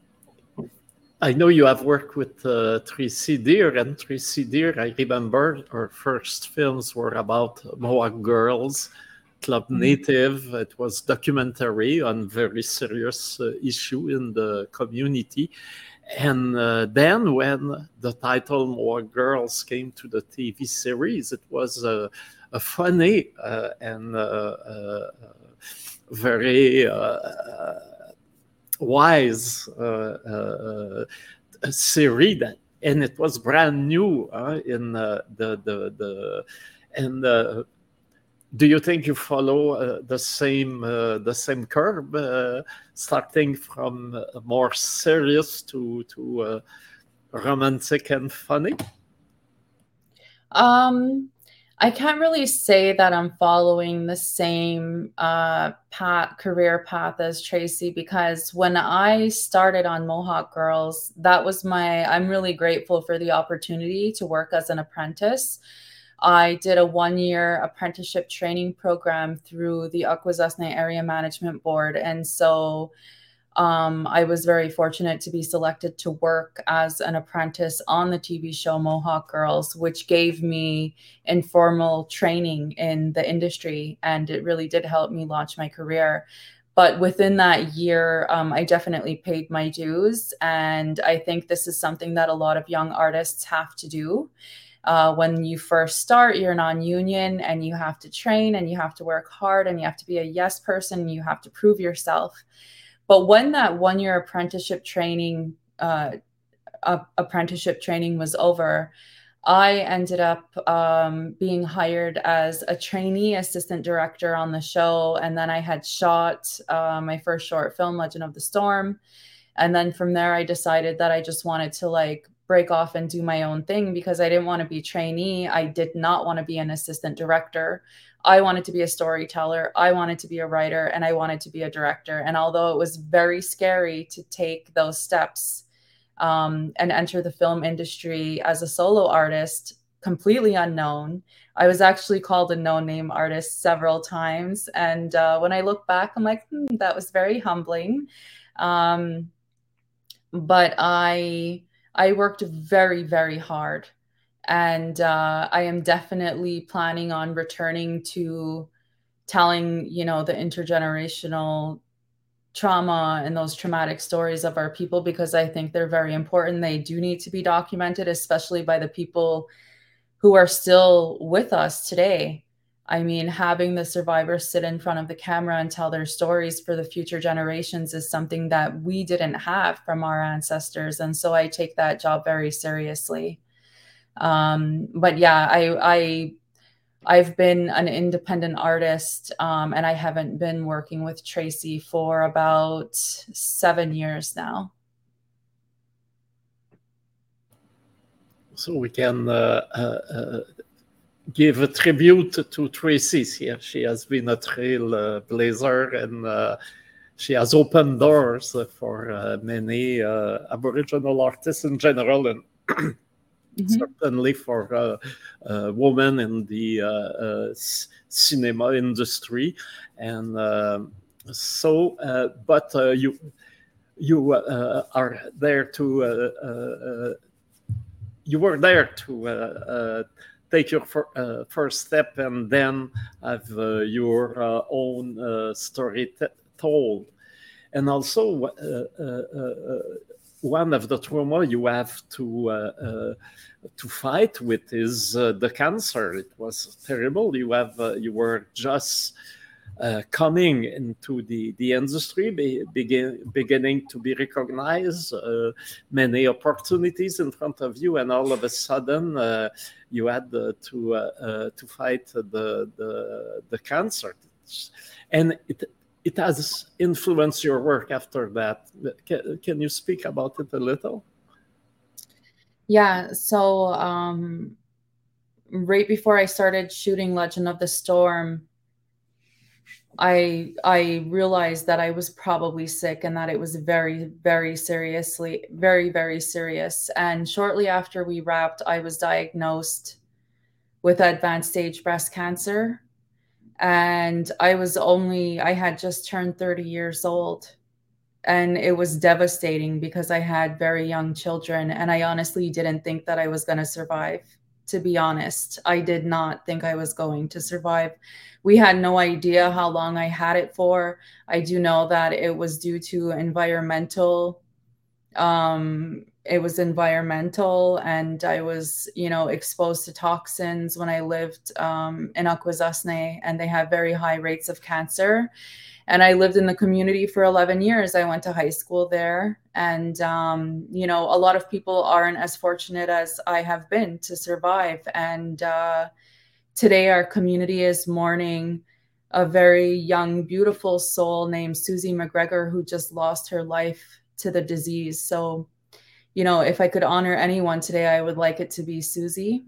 I know you have worked with uh, Tracy Deer, and Tracy Deer, I remember her first films were about Mohawk girls, Club mm-hmm. Native. It was documentary on very serious uh, issue in the community. And uh, then when the title Mohawk Girls came to the T V series, it was uh, a funny uh, and uh, uh, very... Uh, wise uh, uh, series, that, and it was brand new uh, in uh, the the the and uh, do you think you follow uh, the same uh, the same curve, uh, starting from uh, more serious to to uh, romantic and funny? Um. I can't really say that I'm following the same uh, path, career path as Tracy, because when I started on Mohawk Girls, that was my, I'm really grateful for the opportunity to work as an apprentice. I did a one-year apprenticeship training program through the Akwesasne Area Management Board. And so Um, I was very fortunate to be selected to work as an apprentice on the T V show Mohawk Girls, which gave me informal training in the industry, and it really did help me launch my career. But within that year, um, I definitely paid my dues, and I think this is something that a lot of young artists have to do. Uh, when you first start, you're non-union, and you have to train, and you have to work hard, and you have to be a yes person, and you have to prove yourself. But when that one-year apprenticeship training uh, uh, apprenticeship training was over, I ended up um, being hired as a trainee assistant director on the show. And then I had shot uh, my first short film, Legend of the Storm. And then from there, I decided that I just wanted to like break off and do my own thing, because I didn't want to be trainee. I did not want to be an assistant director. I wanted to be a storyteller. I wanted to be a writer, and I wanted to be a director. And although it was very scary to take those steps um, and enter the film industry as a solo artist, completely unknown. I was actually called a no-name artist several times. And uh, when I look back, I'm like, hmm, that was very humbling. Um, but I, I worked very, very hard. And uh, I am definitely planning on returning to telling, you know, the intergenerational trauma and those traumatic stories of our people, because I think they're very important. They do need to be documented, especially by the people who are still with us today. I mean, having the survivors sit in front of the camera and tell their stories for the future generations is something that we didn't have from our ancestors. And so I take that job very seriously. Um, but yeah, I, I, I've been an independent artist, um, and I haven't been working with Tracy for about seven years now. So we can uh, uh, uh, give a tribute to Tracy here. She has been a trailblazer, uh, and uh, she has opened doors for uh, many uh, Aboriginal artists in general, and mm-hmm. certainly for uh, uh, women in the uh, uh, cinema industry. And uh, so, uh, but uh, you you uh, are there to uh, uh, you were there to uh, uh, take your fir- uh, first step and then have uh, your uh, own uh, story t- told. And also, uh, uh, uh, one of the trauma you have to uh, uh, to fight with is uh, the cancer. It was terrible. You have uh, you were just uh, coming into the the industry, be, begin, beginning to be recognized, uh, many opportunities in front of you, and all of a sudden uh, you had uh, to uh, uh, to fight the the the cancer, and it. It has influenced your work after that. Can, can you speak about it a little? Yeah, so um, right before I started shooting Legend of the Storm, I I realized that I was probably sick and that it was very, very seriously, very, very serious. And shortly after we wrapped, I was diagnosed with advanced stage breast cancer. And I was only, I had just turned thirty years old, and it was devastating because I had very young children, and I honestly didn't think that I was going to survive. To be honest, I did not think I was going to survive. We had no idea how long I had it for. I do know that it was due to environmental um it was environmental, and I was, you know, exposed to toxins when I lived um, in Akwesasne, and they have very high rates of cancer. And I lived in the community for eleven years. I went to high school there. And, um, you know, a lot of people aren't as fortunate as I have been to survive. And uh, today our community is mourning a very young, beautiful soul named Susie McGregor, who just lost her life to the disease. So, you know, if I could honor anyone today, I would like it to be Susie.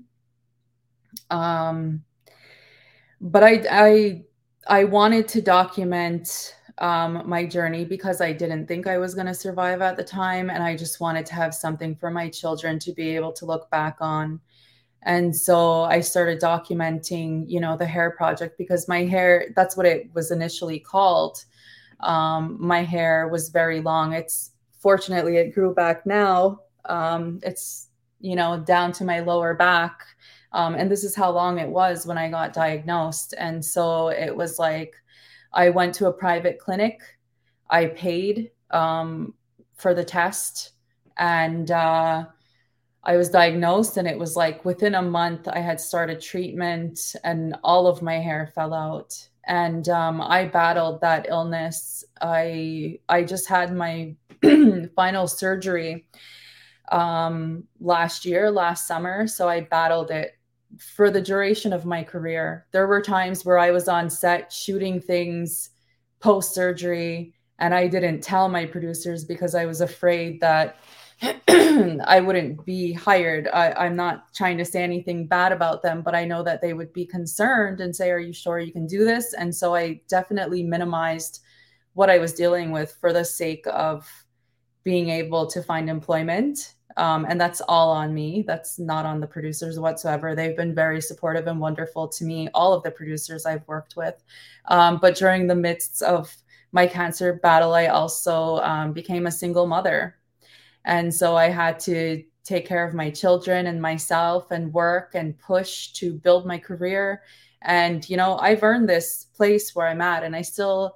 Um, but I, I, I wanted to document um, my journey because I didn't think I was going to survive at the time. And I just wanted to have something for my children to be able to look back on. And so I started documenting, you know, the hair project, because my hair, that's what it was initially called. Um, my hair was very long. It's fortunately, it grew back now. Um, it's, you know, down to my lower back. Um, and this is how long it was when I got diagnosed. And so it was like, I went to a private clinic. I paid um, for the test, and uh, I was diagnosed, and it was like within a month I had started treatment and all of my hair fell out. And um, I battled that illness. I I just had my final surgery um, last year, last summer. So I battled it for the duration of my career. There were times where I was on set shooting things post-surgery, and I didn't tell my producers because I was afraid that I wouldn't be hired. I, I'm not trying to say anything bad about them, but I know that they would be concerned and say, are you sure you can do this? And so I definitely minimized what I was dealing with for the sake of being able to find employment. Um, and that's all on me. That's not on the producers whatsoever. They've been very supportive and wonderful to me, all of the producers I've worked with. Um, but during the midst of my cancer battle, I also um, became a single mother. And so I had to take care of my children and myself and work and push to build my career. And, you know, I've earned this place where I'm at, and I still,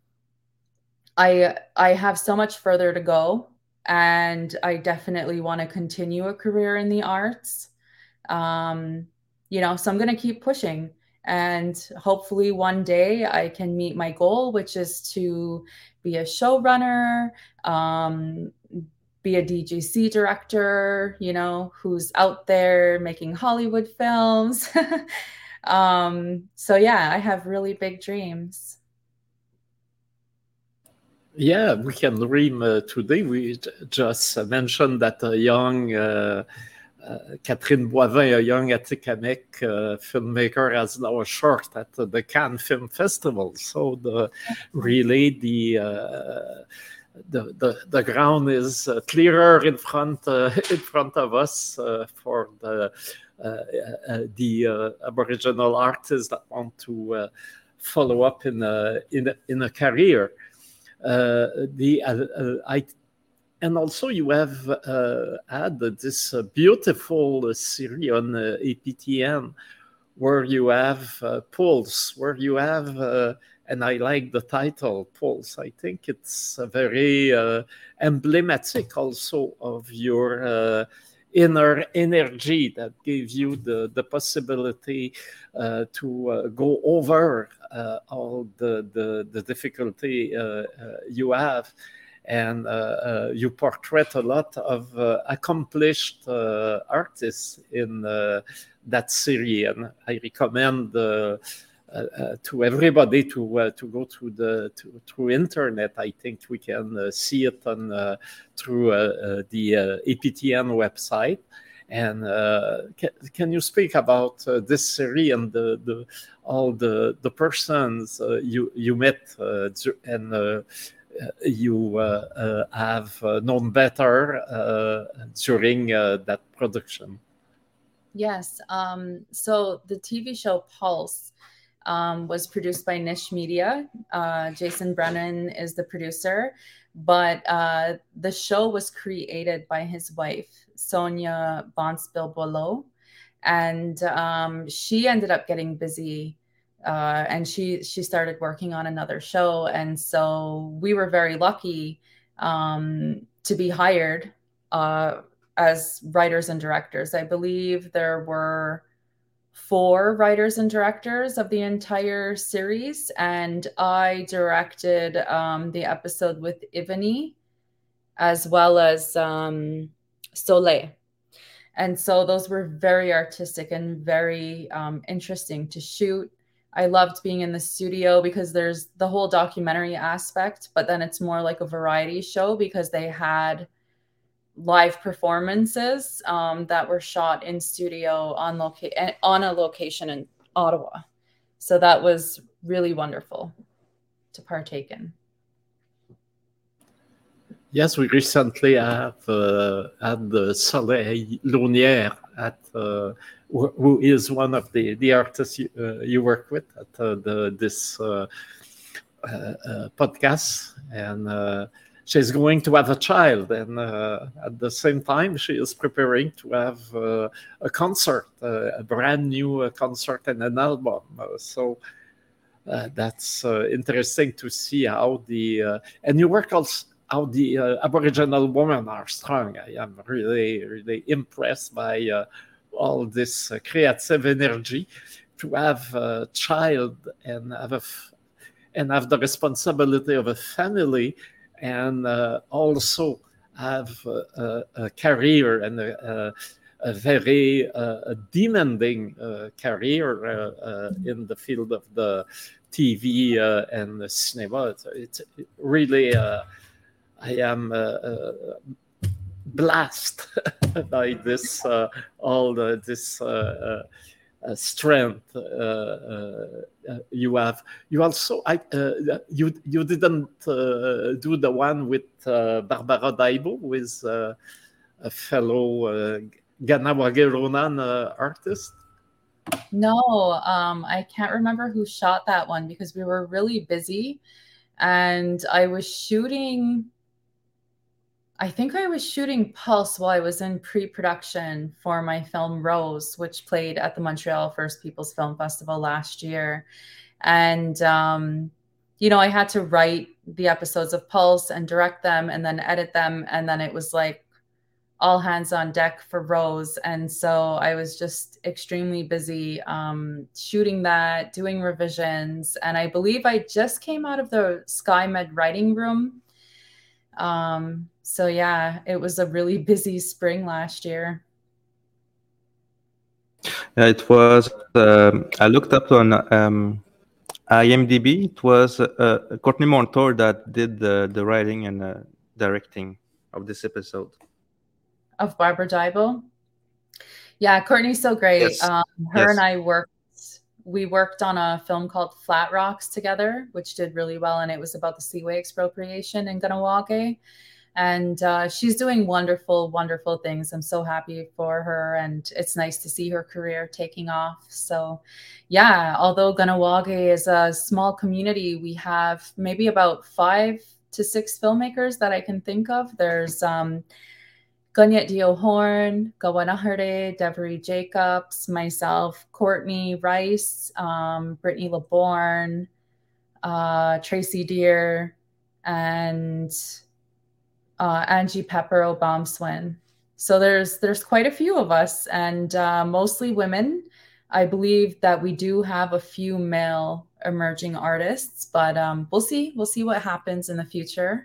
I, I have so much further to go. And I definitely want to continue a career in the arts. Um, you know, so I'm going to keep pushing, and hopefully one day I can meet my goal, which is to be a showrunner, um, be a D G C director, you know, who's out there making Hollywood films. um, so yeah, I have really big dreams. Yeah, we can dream uh, today. We just mentioned that a young uh, uh, Catherine Boivin, a young Atikamekw uh, filmmaker, has now a short at the Cannes Film Festival. So the really the uh, the, the the ground is uh, clearer in front uh, in front of us uh, for the uh, uh, the uh, Aboriginal artists that want to uh, follow up in a in a, in a career. Uh, the uh, uh, I and also you have uh, had this uh, beautiful uh, series on uh, A P T N where you have uh, Pulse, where you have uh, and I like the title Pulse. I think it's a very uh, emblematic also of your uh, inner energy that gives you the, the possibility uh, to uh, go over uh, all the, the, the difficulty uh, uh, you have. And uh, uh, you portray a lot of uh, accomplished uh, artists in uh, that series. And I recommend uh, uh, to everybody to uh, to go to the to, through internet. I think we can uh, see it on uh, through uh, uh, the uh, A P T N website. And uh, can, can you speak about uh, this series and the, the all the the persons uh, you you met uh, and uh, you uh, uh, have uh, known better uh, during uh, that production? Yes. Um, so the T V show Pulse um, was produced by Niche Media. Uh, Jason Brennan is the producer, but uh, the show was created by his wife, Sonia Bonspiel-Boileau, and um, she ended up getting busy, uh, and she she started working on another show, and so we were very lucky um, to be hired uh, as writers and directors. I believe there were four writers and directors of the entire series, and I directed um, the episode with Ivany as well as um, Soleil. And so those were very artistic and very um, interesting to shoot. I loved being in the studio because there's the whole documentary aspect, but then it's more like a variety show because they had live performances um, that were shot in studio on loca- on a location in Ottawa. So that was really wonderful to partake in. Yes, we recently have uh, had the Soleil Launière at uh, who, who is one of the, the artists you, uh, you work with at uh, the, this uh, uh, uh, podcast. And uh, she's going to have a child, and uh, at the same time, she is preparing to have uh, a concert, uh, a brand new uh, concert and an album. Uh, so uh, that's uh, interesting to see how the uh, and you work also how the uh, Aboriginal women are strong. I am really, really impressed by uh, all this uh, creative energy to have a child and have a f- and have the responsibility of a family, and uh, also have a, a, a career and a, a, a very uh, demanding uh, career uh, uh, in the field of the T V uh, and the cinema. It's, it's really, uh, I am uh, uh, blessed by this, uh, all the, this uh, uh, strength uh, uh, you have. You also, I, uh, you you didn't uh, do the one with uh, Barbara Daibo with uh, a fellow uh, Kahnawake Ronan uh, artist? No, um, I can't remember who shot that one because we were really busy, and I was shooting. I think I was shooting Pulse while I was in pre-production for my film Rose, which played at the Montreal First Peoples Film Festival last year. And, um, you know, I had to write the episodes of Pulse and direct them and then edit them. And then it was like all hands on deck for Rose. And so I was just extremely busy um, shooting that, doing revisions. And I believe I just came out of the SkyMed writing room. Um, so yeah, it was a really busy spring last year. Yeah, it was, um, I looked up on um, IMDb. It was uh, Courtney Montour that did the, the writing and uh, directing of this episode. Of Barbara Daibo? Yeah, Courtney's so great. Yes. Um, her Yes. and I worked, we worked on a film called Flat Rocks together, which did really well. And it was about the Seaway expropriation in Kahnawake. And uh, she's doing wonderful, wonderful things. I'm so happy for her. And it's nice to see her career taking off. So yeah, although Kahnawake is a small community, we have maybe about five to six filmmakers that I can think of. There's um, Ganyet Dio Horn, Gawanahare, Devery Jacobs, myself, Courtney Rice, um, Brittany LeBourne, uh, Tracy Deer, and uh, Angie Pepper Obamswin. So there's there's quite a few of us, and uh, mostly women. I believe that we do have a few male emerging artists, but um, we'll see. We'll see what happens in the future.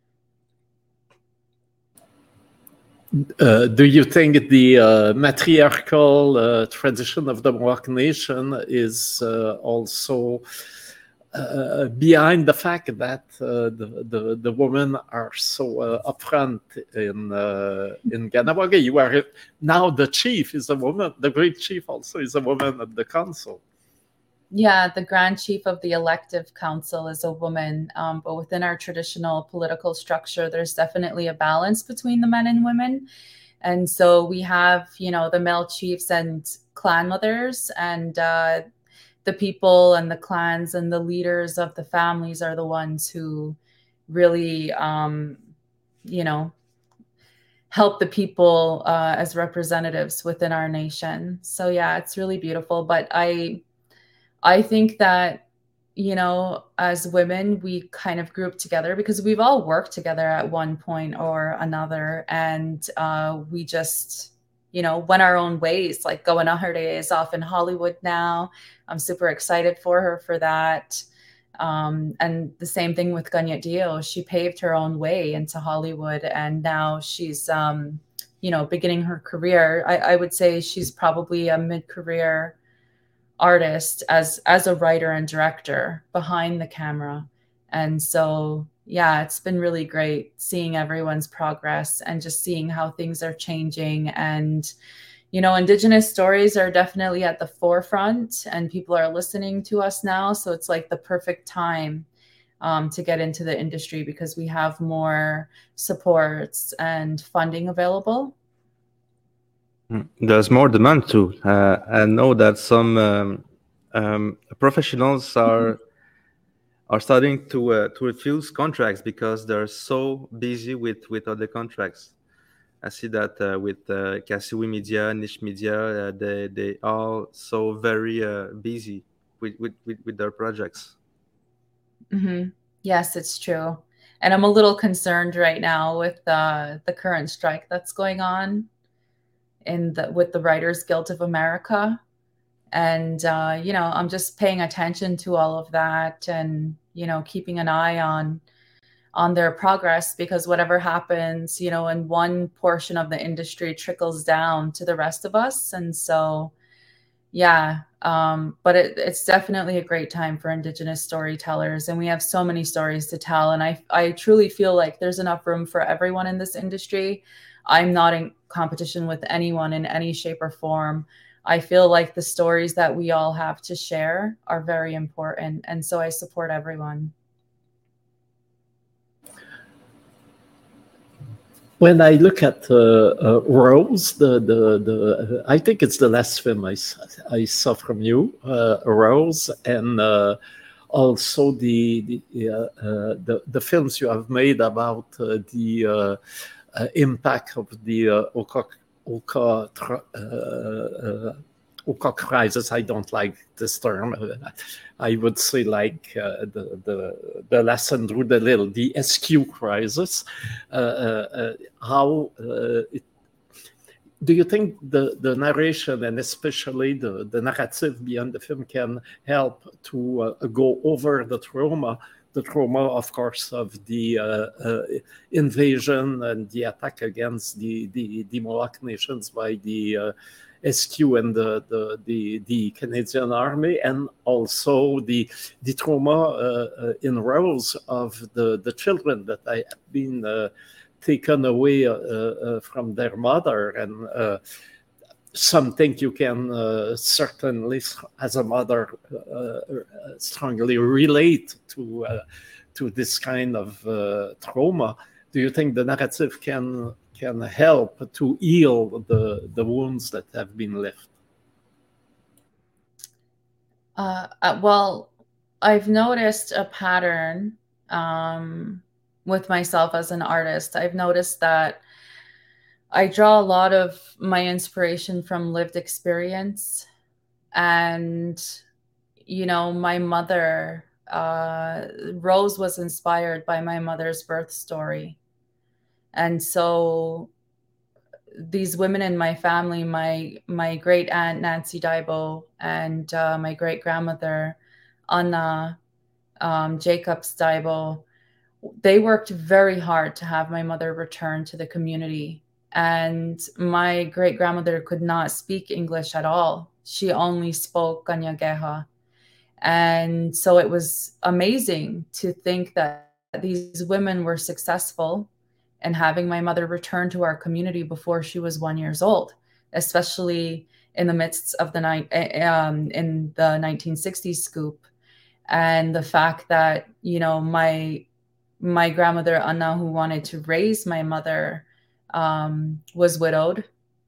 Uh, do you think the uh, matriarchal uh, tradition of the Mohawk Nation is uh, also uh, behind the fact that uh, the, the the women are so uh, upfront in uh, in Kahnawake? You are now the chief is a woman. The great chief also is a woman at the council. Yeah, the Grand Chief of the Elective Council is a woman, um, but within our traditional political structure, there's definitely a balance between the men and women. And so we have, you know, the male chiefs and clan mothers, and uh, the people and the clans and the leaders of the families are the ones who really, um, you know, help the people uh, as representatives within our nation. So yeah, it's really beautiful. But I... I think that, you know, as women, we kind of group together because we've all worked together at one point or another. And uh, we just, you know, went our own ways. Like Gawanahare is off in Hollywood now. I'm super excited for her for that. Um, and the same thing with Ganyet Dio. She paved her own way into Hollywood. And now she's, um, you know, beginning her career. I, I would say she's probably a mid-career artist as as a writer and director behind the camera. And so yeah, it's been really great seeing everyone's progress and just seeing how things are changing. And you know, Indigenous stories are definitely at the forefront and people are listening to us now, so it's like the perfect time um, to get into the industry because we have more supports and funding available. There's more demand too. Uh, I know that some um, um, professionals are are starting to uh, to refuse contracts because they're so busy with, with other contracts. I see that uh, with uh, Kasiwi Media, Niche Media, uh, they they are so very uh, busy with, with, with, with their projects. Mm-hmm. Yes, it's true. And I'm a little concerned right now with uh, the current strike that's going on in the with the Writers Guild of America. And uh, you know, I'm just paying attention to all of that and, you know, keeping an eye on on their progress, because whatever happens, you know, in one portion of the industry trickles down to the rest of us. And so yeah, um, but it, it's definitely a great time for Indigenous storytellers, and we have so many stories to tell. And I, I truly feel like there's enough room for everyone in this industry. I'm not in competition with anyone in any shape or form. I feel like the stories that we all have to share are very important, and so I support everyone. when I look at uh, uh, Rose, the the the I think it's the last film I, I saw from you, uh, Rose, and uh, also the the, uh, uh, the the films you have made about uh, the uh, uh, impact of the uh, Oka Oka uh, uh, Oka crisis. I don't like this term. I would say like uh, the, the the lesson through the little, the S Q crisis. Uh, uh, how uh, it, do you think the, the narration and especially the, the narrative beyond the film can help to uh, go over the trauma, the trauma, of course, of the uh, uh, invasion and the attack against the, the, the Mohawk nations by the uh, S Q and the, the the the Canadian Army, and also the the trauma uh, uh, in Rose of the the children that have been uh, taken away uh, uh, from their mother, and uh, something you can uh, certainly, as a mother, uh, strongly relate to uh, to this kind of uh, trauma. Do you think the narrative can can help to heal the, the wounds that have been left? Uh, uh, well, I've noticed a pattern um, with myself as an artist. I've noticed that I draw a lot of my inspiration from lived experience. And, you know, my mother, uh, Rose was inspired by my mother's birth story. And so these women in my family, my my great aunt Nancy Daibo and uh, my great grandmother Anna um, Jacobs Daibo, they worked very hard to have my mother return to the community. And my great grandmother could not speak English at all. She only spoke Kanyageha. And so it was amazing to think that these women were successful and having my mother return to our community before she was one years old, especially in the midst of the night um, in the nineteen sixties scoop. And the fact that, you know, my my grandmother Anna, who wanted to raise my mother, um, was widowed,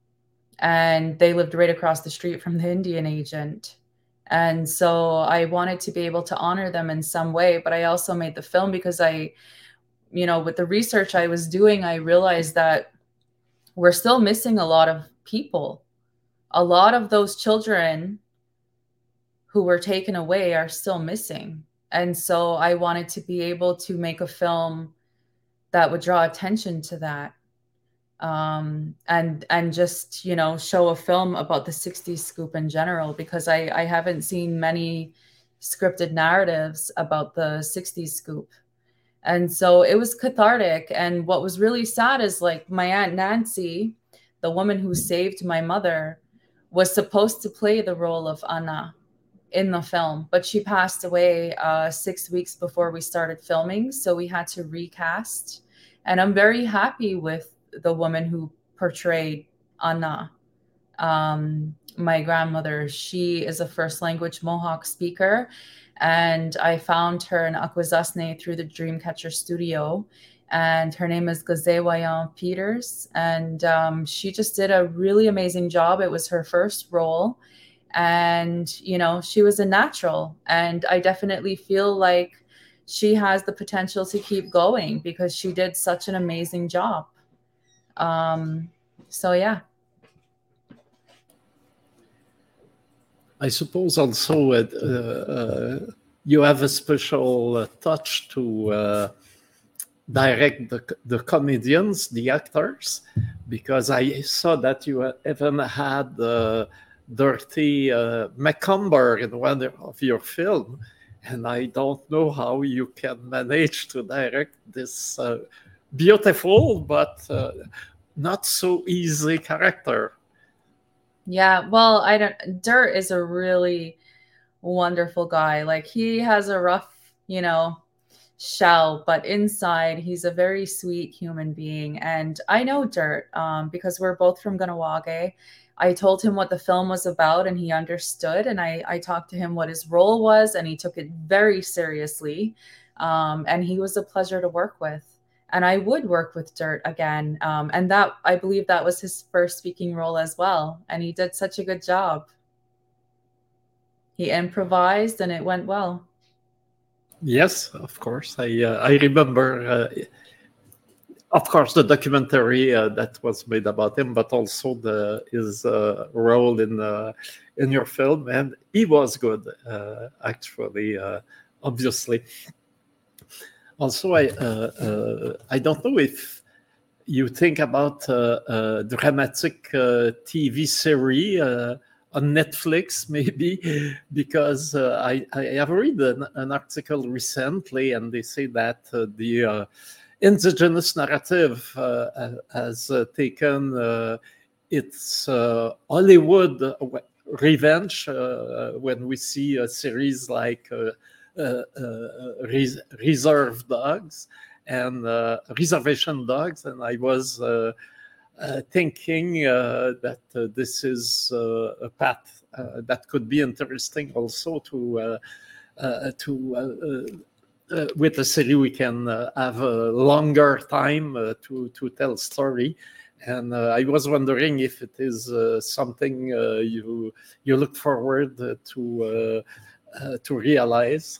and they lived right across the street from the Indian agent. And so I wanted to be able to honor them in some way, but I also made the film because I, you know, with the research I was doing, I realized that we're still missing a lot of people. A lot of those children who were taken away are still missing. And so I wanted to be able to make a film that would draw attention to that. Um, and and just, you know, show a film about the sixties scoop in general, because I, I haven't seen many scripted narratives about the sixties scoop. And so it was cathartic. And what was really sad is, like, my Aunt Nancy, the woman who saved my mother, was supposed to play the role of Anna in the film, but she passed away uh, six weeks before we started filming. So we had to recast. And I'm very happy with the woman who portrayed Anna, um, my grandmother. She is a first language Mohawk speaker. And I found her in Akwesasne through the Dreamcatcher studio. And her name is Gazewayan Peters. And um, she just did a really amazing job. It was her first role. And, you know, she was a natural. And I definitely feel like she has the potential to keep going because she did such an amazing job. Um, so, yeah. I suppose also uh, uh, you have a special uh, touch to uh, direct the, the comedians, the actors, because I saw that you even had uh, Dorothy uh, McCumber in one of your films, and I don't know how you can manage to direct this uh, beautiful but uh, not so easy character. Yeah, well, I don't. Dirt is a really wonderful guy. Like, he has a rough, you know, shell, but inside he's a very sweet human being. And I know Dirt um, because we're both from Kahnawake. I told him what the film was about, and he understood. And I, I talked to him what his role was, and he took it very seriously. Um, and he was a pleasure to work with. and I would work with Dirt again. Um, and that, I believe that was his first speaking role as well. And he did such a good job. He improvised and it went well. Yes, of course. I uh, I remember, uh, of course, the documentary uh, that was made about him, but also the his uh, role in uh, in your film, and he was good, uh, actually, uh, obviously. Also, I uh, uh, I don't know if you think about uh, a dramatic uh, T V series uh, on Netflix, maybe, because uh, I, I have read an, an article recently, and they say that uh, the uh, indigenous narrative uh, has uh, taken uh, its uh, Hollywood revenge uh, when we see a series like uh, uh, uh, Res- Reserve Dogs and uh, Reservation Dogs, and I was uh, uh, thinking uh, that uh, this is uh, a path uh, that could be interesting also to uh, uh, to uh, uh, with a series we can uh, have a longer time uh, to to tell story. And uh, I was wondering if it is uh, something uh, you you look forward to uh, uh, to realize.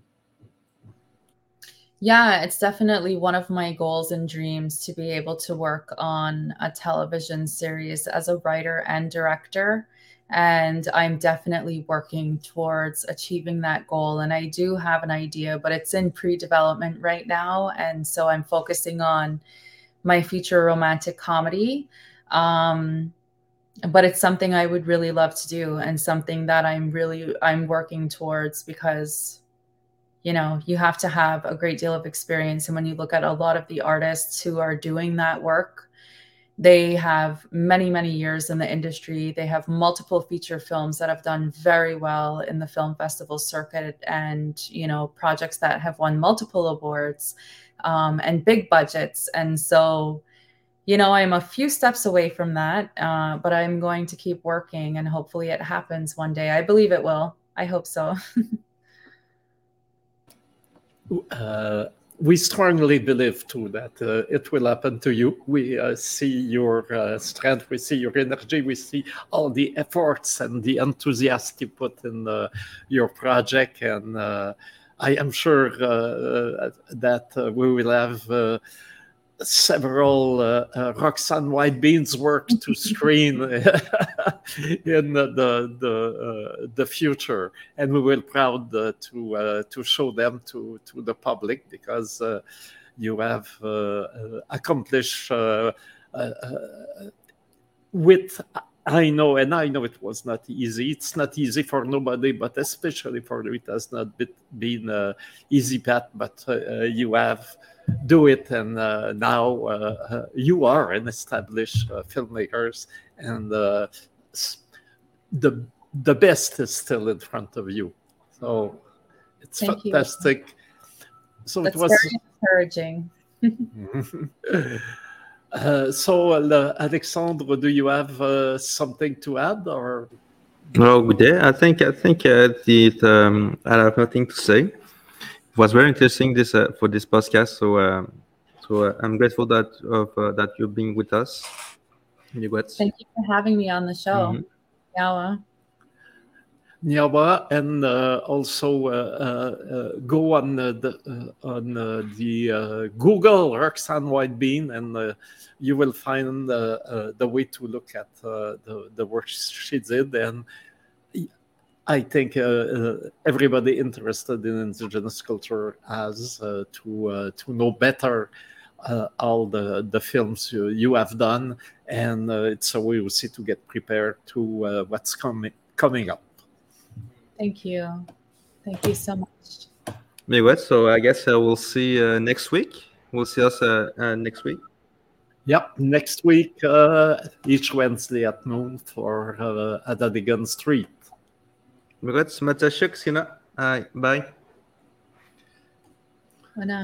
Yeah, it's definitely one of my goals and dreams to be able to work on a television series as a writer and director. And I'm definitely working towards achieving that goal. And I do have an idea, but it's in pre-development right now. And so I'm focusing on my feature romantic comedy. Um, but it's something I would really love to do, and something that I'm really, I'm working towards, because you know, you have to have a great deal of experience. And when you look at a lot of the artists who are doing that work, they have many, many years in the industry. They have multiple feature films that have done very well in the film festival circuit, and, you know, projects that have won multiple awards um, and big budgets. And so, you know, I'm a few steps away from that, uh, but I'm going to keep working, and hopefully it happens one day. I believe it will. I hope so. Uh, we strongly believe too that uh, it will happen to you. We uh, see your uh, strength, we see your energy, we see all the efforts and the enthusiasm you put in uh, your project, and uh, I am sure uh, that uh, we will have uh, several uh, uh, Roxanne White Beans work to screen in the the the, uh, the future, and we will proud uh, to uh, to show them to to the public, because uh, you have uh, accomplished uh, uh, with. I know, and I know it was not easy. It's not easy for nobody, but especially for you, it has not been an easy path. But uh, you have do it, and uh, now uh, you are an established uh, filmmakers, and uh, the the best is still in front of you. So it's Thank fantastic. You. So That's it was very encouraging. uh, so, uh, Alexandre, do you have uh, something to add, or? No, good day. I think I think uh, the um, I have nothing to say. It was very interesting this uh, for this podcast. So uh, so uh, I'm grateful that of uh, that you're being with us. Thank you for having me on the show. Mm-hmm. Yawa. Nyawa, and uh, also uh, uh, go on uh, the uh, on uh, the uh, Google Roxanne White Bean, and uh, you will find uh, uh, the way to look at uh, the the work she did. And I think uh, uh, everybody interested in indigenous culture has uh, to uh, to know better uh, all the the films you, you have done, and uh, it's a way we see to get prepared to uh, what's coming coming up. Thank you. Thank you so much. Anyway, so I guess uh, we'll see uh, next week. We'll see us uh, uh, next week. Yep, next week, uh, each Wednesday at noon for uh, Adadigan Street. Bye. Bye.